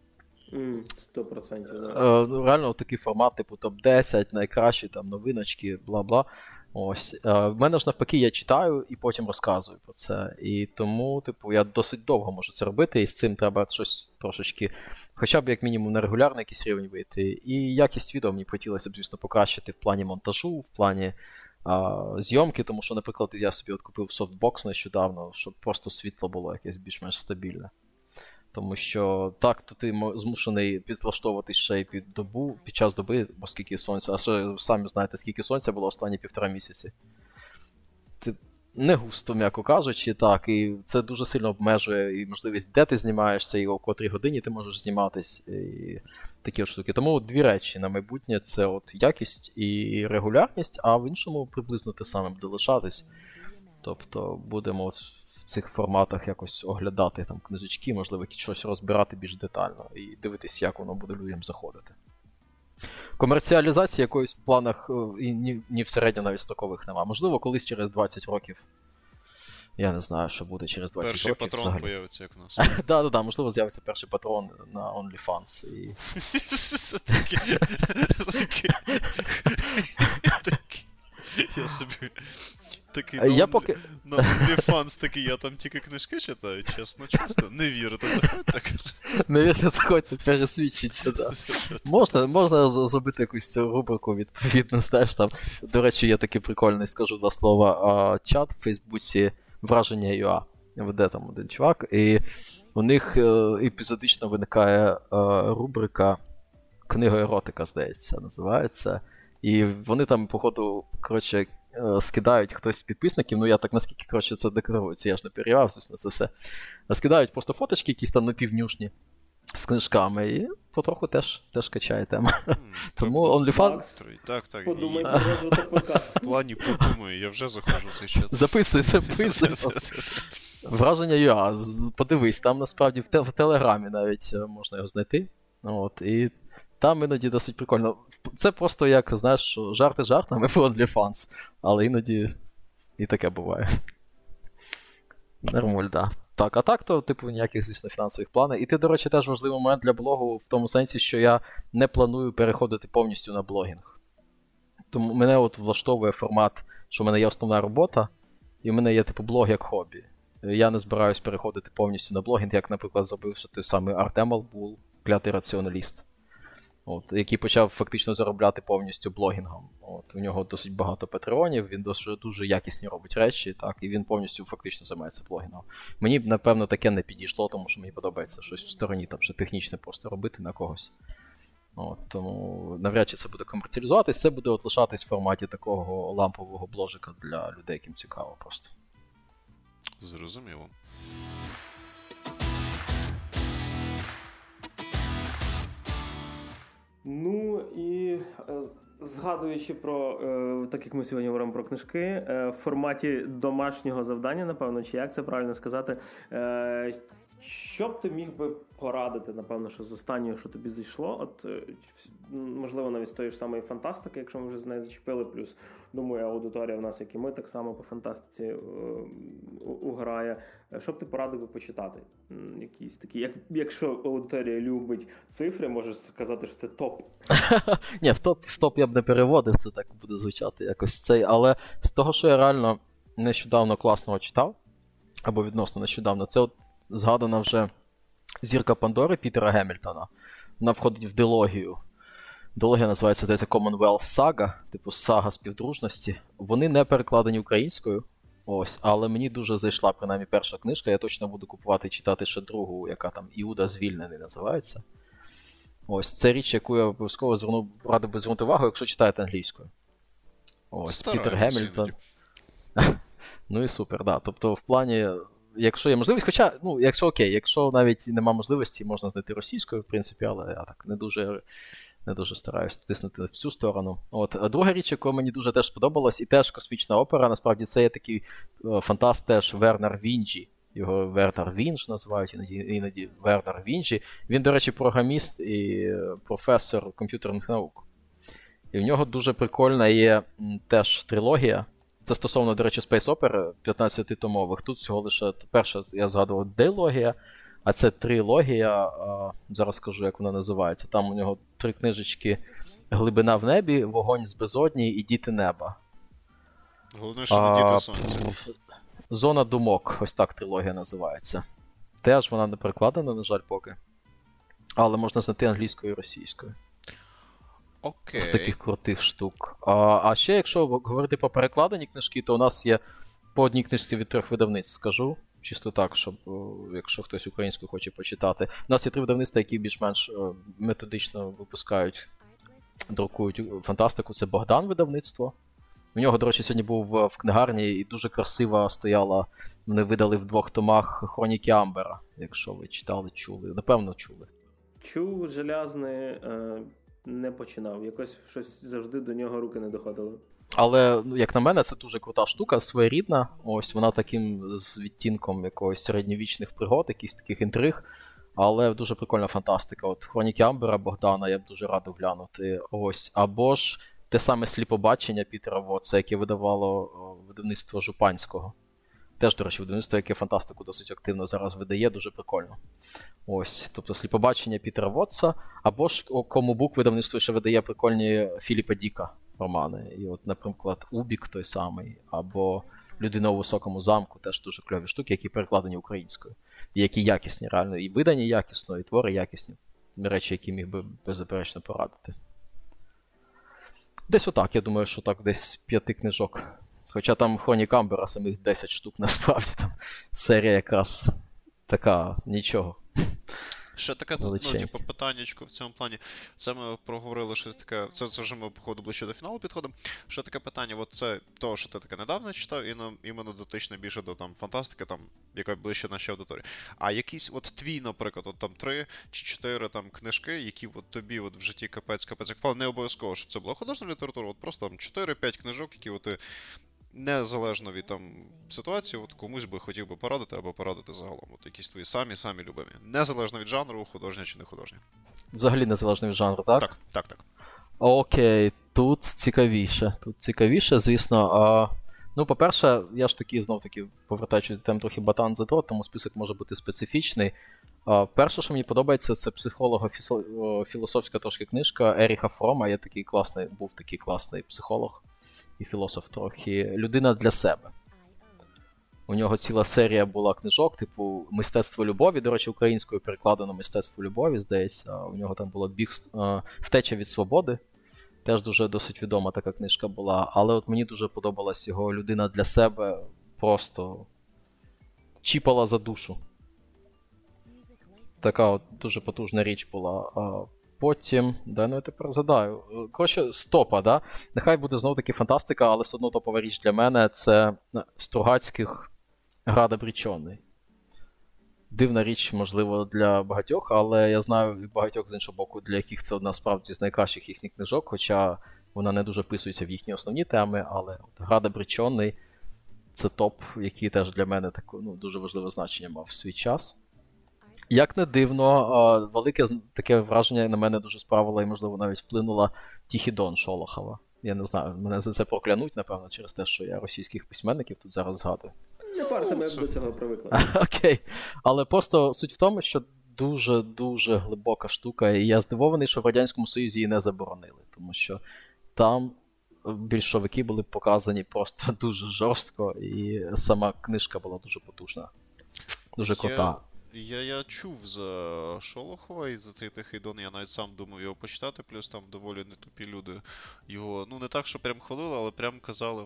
100%. Реально такий формат, типу топ-10, найкращі там новиночки, бла-бла. Ось. В мене ж навпаки, я читаю і потім розказую про це. І тому, типу, я досить довго можу це робити, і з цим треба щось трошечки, хоча б як мінімум на регулярний якийсь рівень вийти. І якість відео мені хотілося б, звісно, покращити в плані монтажу, в плані зйомки, тому що, наприклад, я собі от купив софтбокс нещодавно, щоб просто світло було якесь більш-менш стабільне. Тому що так, то ти змушений підлаштовуватись ще й під час доби, бо скільки сонця, а що самі знаєте, скільки сонця було останні 1,5 місяці. Не густо, м'яко кажучи, так, і це дуже сильно обмежує і можливість, де ти знімаєшся, і о котрій годині ти можеш зніматись, і такі от штуки. Тому дві речі на майбутнє – це от якість і регулярність, а в іншому приблизно те саме буде лишатись. Тобто будемо в цих форматах якось оглядати там книжечки, можливо, щось розбирати більш детально і дивитись, як воно буде людям заходити. Комерціалізації якоїсь в планах і ні в середньо навіть строкових нема. Можливо, колись через 20 років. Я не знаю, що буде через 20 перший років. Перший патрон появиться, як у нас. Да, можливо, з'явиться перший патрон на OnlyFans. Я собі... Такий, на OnlyFans такий, я там тільки книжки читаю, чесно. Не вірите, заходьте. Не вірите, заходьте, пересвідчіться, да. Можна зробити якусь цю рубрику відповідно, знаєш, там. До речі, є такий прикольний, скажу два слова, чат в Фейсбуці Враження.ua. Веде там один чувак, і у них епізодично виникає рубрика «Книга-еротика», здається, називається. І вони там, походу, коротше, скидають хтось з підписників, ну я так наскільки, коротше, це декларується, я ж не перевіряв, звісно, це все. Скидають просто фоточки якісь там напівнюшні з книжками, і потроху теж качає тема. Тому OnlyFans... Так. Подумай про розвиток подкасту. В плані подумаю, я вже заходжу в цей чат. Записуй. Враження ЮА, подивись, там насправді в Телеграмі навіть можна його знайти. От, і там іноді досить прикольно. Це просто як, знаєш, жарти жартами про OnlyFans, але іноді і таке буває. Нормаль, да. Так, а так, то, типу, ніяких, звісно, фінансових планів. І ти, до речі, теж важливий момент для блогу в тому сенсі, що я не планую переходити повністю на блогінг. Тому мене от влаштовує формат, що в мене є основна робота, і в мене є, типу, блог як хобі. Я не збираюсь переходити повністю на блогінг, як, наприклад, зробив той самий Артем Албул, клятий раціоналіст. От, який почав фактично заробляти повністю блогінгом. От, у нього досить багато патреонів, він дуже якісні робить речі, так, і він повністю фактично займається блогінгом. Мені б, напевно, таке не підійшло, тому що мені подобається щось в стороні, там, ще технічне просто робити на когось. От, тому навряд чи це буде комерціалізуватись, це буде от лишатись в форматі такого лампового бложика для людей, яким цікаво просто. Зрозуміло. Ну і згадуючи про, так як ми сьогодні говоримо про книжки, в форматі домашнього завдання, напевно, чи як це правильно сказати, що б ти міг би порадити, напевно, що з останнього, що тобі зайшло, от, можливо, навіть з тої ж самої фантастики, якщо ми вже з нею зачепили, плюс, думаю, аудиторія в нас, як і ми, так само по фантастиці уграє. Що б ти порадив би почитати? Якісь такі, якщо аудиторія любить цифри, можеш сказати, що це топ. Ні, в топ я б не переводив, це так буде звучати якось цей, але з того, що я реально нещодавно класного читав, або відносно нещодавно, це от згадана вже «Зірка Пандори» Пітера Гемільтона. Вона входить в дилогію. Дилогія називається, здається, Commonwealth Saga, типу сага співдружності. Вони не перекладені українською, ось, але мені дуже зайшла, принаймні, перша книжка. Я точно буду купувати і читати ще другу, яка там «Іуда звільнений» називається. Ось, це річ, яку я обов'язково радив би звернути увагу, якщо читаєте англійською. Ось, Пітер Гемільтон. Ну і супер, да. Тобто, в плані... Якщо є можливість, хоча, ну, якщо окей, якщо навіть нема можливості, можна знайти російською, в принципі, але я так не дуже стараюсь тиснути в цю сторону. От. А друга річ, яка мені дуже теж сподобалась, і теж космічна опера, насправді це є такий фантаст теж Вернер Вінджі. Його Вернер Вінж називають, іноді Вернер Вінджі. Він, до речі, програміст і професор комп'ютерних наук. І в нього дуже прикольна є теж трилогія. Це стосовно, до речі, Space Opera 15-томових. Тут всього лише перша, я згадував, дилогія, а це трилогія, зараз скажу, як вона називається. Там у нього 3 книжечки «Глибина в небі», «Вогонь з безодні» і «Діти неба». Головне, що не «Діти сонця». «Зона думок», ось так трилогія називається. Теж вона не перекладена, на жаль, поки. Але можна знайти англійською і російською. Окей. З таких крутих штук. А ще, якщо говорити про перекладені книжки, то у нас є по одній книжці від 3 видавництв, скажу. Чисто так, щоб, якщо хтось українською хоче почитати. У нас є 3 видавництва, які більш-менш методично випускають, друкують фантастику. Це Богдан видавництво. У нього, до речі, сьогодні був в книгарні і дуже красиво стояла, вони видали в 2 томах «Хроніки Амбера», якщо ви читали, чули. Напевно, чули. Чув, желязний, не починав. Якось щось завжди до нього руки не доходили. Але, як на мене, це дуже крута штука, своєрідна. Ось вона таким з відтінком якогось середньовічних пригод, якихось таких інтриг. Але дуже прикольна фантастика. От «Хроніки Амбера» Богдана я б дуже радив глянути. Ось. Або ж те саме «Сліпобачення» Пітера Вотса, яке видавало видавництво Жупанського. Теж, до речі, видавництво, яке фантастику досить активно зараз видає, дуже прикольно. Ось, тобто «Сліпобачення» Пітера Вотса, або ж Комубук видавництво ще видає прикольні Філіпа Діка романи. І от, наприклад, «Убік» той самий, або «Людина у високому замку», теж дуже кльові штуки, які перекладені українською. І які якісні, реально, і видані якісно, і твори якісні. Речі, які міг би беззаперечно порадити. Десь отак, я думаю, що так десь 5 книжок. Хоча там «Хронік Амбера» самих 10 штук, насправді там серія якраз така, нічого. Ще таке, величенькі. питаннячко в цьому плані. Це ми проговорили щось таке, це вже ми, походу, ближче до фіналу підходимо. Ще таке питання, от це того, що ти таке недавно читав, і іменно дотично більше до там фантастики, там, яка ближче нашій аудиторії. А якісь от твій, наприклад, от там 3 чи 4 там книжки, які от тобі от в житті капець як впали, не обов'язково, щоб це була художня література, от просто там 4-5 книжок, які от ти незалежно від там ситуації, от комусь би хотів би порадити або порадити загалом. От якісь твої самі любимі. Незалежно від жанру, художня чи не художня. Взагалі незалежно від жанру, так? Так. Окей, тут цікавіше, звісно. Ну, по-перше, я ж таки, знов-таки, повертаючись до теми трохи батан за дрот, тому список може бути специфічний. Перше, що мені подобається, це психолого-філософська трошки книжка Еріха Фрома. Був такий класний психолог і філософ трохи. «Людина для себе». У нього ціла серія була книжок, типу «Мистецтво любові». До речі, українською перекладено «Мистецтво любові», здається. У нього там було «Втеча від свободи». Теж дуже досить відома така книжка була. Але от мені дуже подобалась його «Людина для себе». Просто чіпала за душу. Така от дуже потужна річ була. Потім, я тепер згадаю. Коротше, з топа, да? Нехай буде знову-таки фантастика, але все одно топова річ для мене це Стругацьких «Град обречений». Дивна річ, можливо, для багатьох, але я знаю і багатьох, з іншого боку, для яких це одна справді з найкращих їхніх книжок, хоча вона не дуже вписується в їхні основні теми, але «Град обречений» – це топ, який теж для мене дуже важливе значення мав в свій час. Як не дивно, велике таке враження на мене дуже справило і, можливо, навіть вплинула «Тихий Дон» Шолохова. Я не знаю, мене за це проклянуть, напевно, через те, що я російських письменників тут зараз згадую. Не парся, ми до цього привикли. Окей. Але просто суть в тому, що дуже-дуже глибока штука, і я здивований, що в Радянському Союзі її не заборонили, тому що там більшовики були показані просто дуже жорстко, і сама книжка була дуже потужна, дуже крута. Я чув за Шолохова і за цей «Тихий Дон», я навіть сам думав його почитати, плюс там доволі нетупі люди його, не так, що прям хвалили, але прям казали,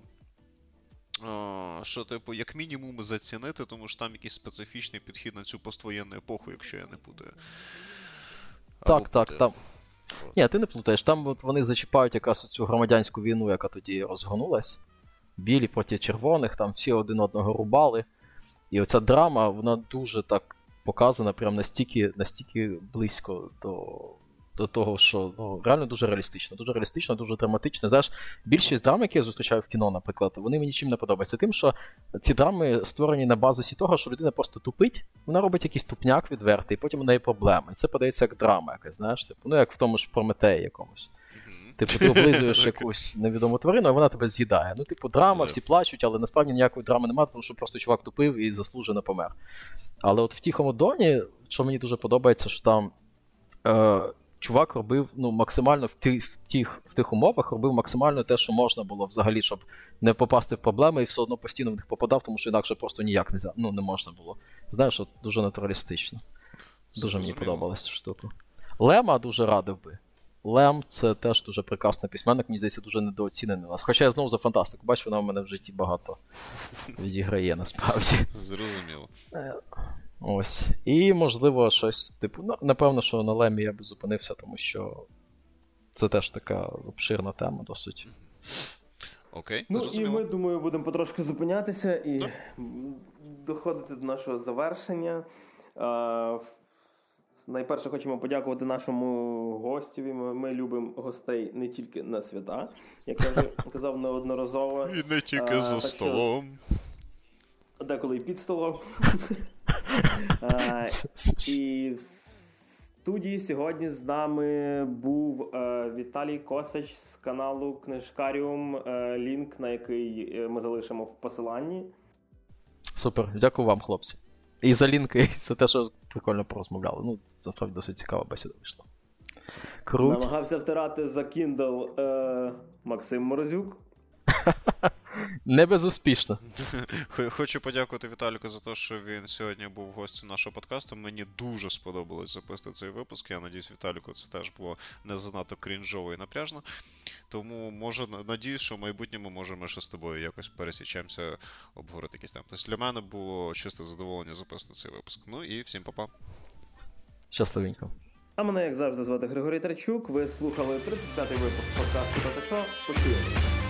що, типу, як мінімум зацінити, тому що там якийсь специфічний підхід на цю поствоєнну епоху, якщо я не путаю. Так. Ні, ти не плутаєш. Там от вони зачіпають якраз цю громадянську війну, яка тоді розгонулась. Білі проти червоних, там всі один одного рубали. І оця драма, вона дуже так показана, прям настільки близько до того, що реально дуже реалістично, дуже драматично. Знаєш, більшість драм, які я зустрічаю в кіно, наприклад, вони мені чим не подобаються. Тим, що ці драми створені на базисі того, що людина просто тупить, вона робить якийсь тупняк відвертий, і потім у неї проблеми. І це подається як драма якась, знаєш, типу, як в тому ж Прометеї якомусь. Типу, ти облизуєш якусь невідому тварину, а вона тебе з'їдає. Драма, всі плачуть, але насправді ніякої драми немає, тому що просто чувак тупив і заслужено помер. Але от в «Тихому Доні», що мені дуже подобається, що там чувак робив максимально в тих умовах, робив максимально те, що можна було взагалі, щоб не попасти в проблеми, і все одно постійно в них попадав, тому що інакше просто ніяк не можна було. Знаєш, от дуже натуралістично. Дуже мені подобалася ця штука. Лема дуже радив би. Лем – це теж дуже прекрасний письменник, мені здається, дуже недооцінений у нас. Хоча я знову за фантастику, бачу, вона в мене в житті багато відіграє, насправді. Зрозуміло. Ось. І, можливо, щось, типу, напевно, що на Лемі я би зупинився, тому що це теж така обширна тема досить. Окей, і ми, думаю, будемо потрошки зупинятися і доходити до нашого завершення. Найперше хочемо подякувати нашому гостеві. Ми любимо гостей не тільки на свята, як я вже казав неодноразово. І не тільки за столом. Деколи і під столом. І в студії сьогодні з нами був Віталій Косач з каналу Книжкаріум, лінк на який ми залишимо в посиланні. Супер, дякую вам, хлопці. І за лінки, і за те, що прикольно порозмовляли. Насправді досить цікава бесіда вийшла. Круть. Намагався втирати за Kindle Максим Морозюк. Не безуспішно. Хочу подякувати Віталіку за те, що він сьогодні був гостем нашого подкасту. Мені дуже сподобалось записати цей випуск. Я надіюсь, Віталіку це теж було не занадто крінжово і напряжно. Тому, надіюсь, що в майбутньому можемо ще з тобою якось пересічемося, обговорити якісь теми. Тобто для мене було чисте задоволення записати цей випуск. І всім па-па. Щасливенько. А мене, як завжди, звати Григорій Тарчук. Ви слухали 35-й випуск подкасту «Та ти шо?». Почуємося.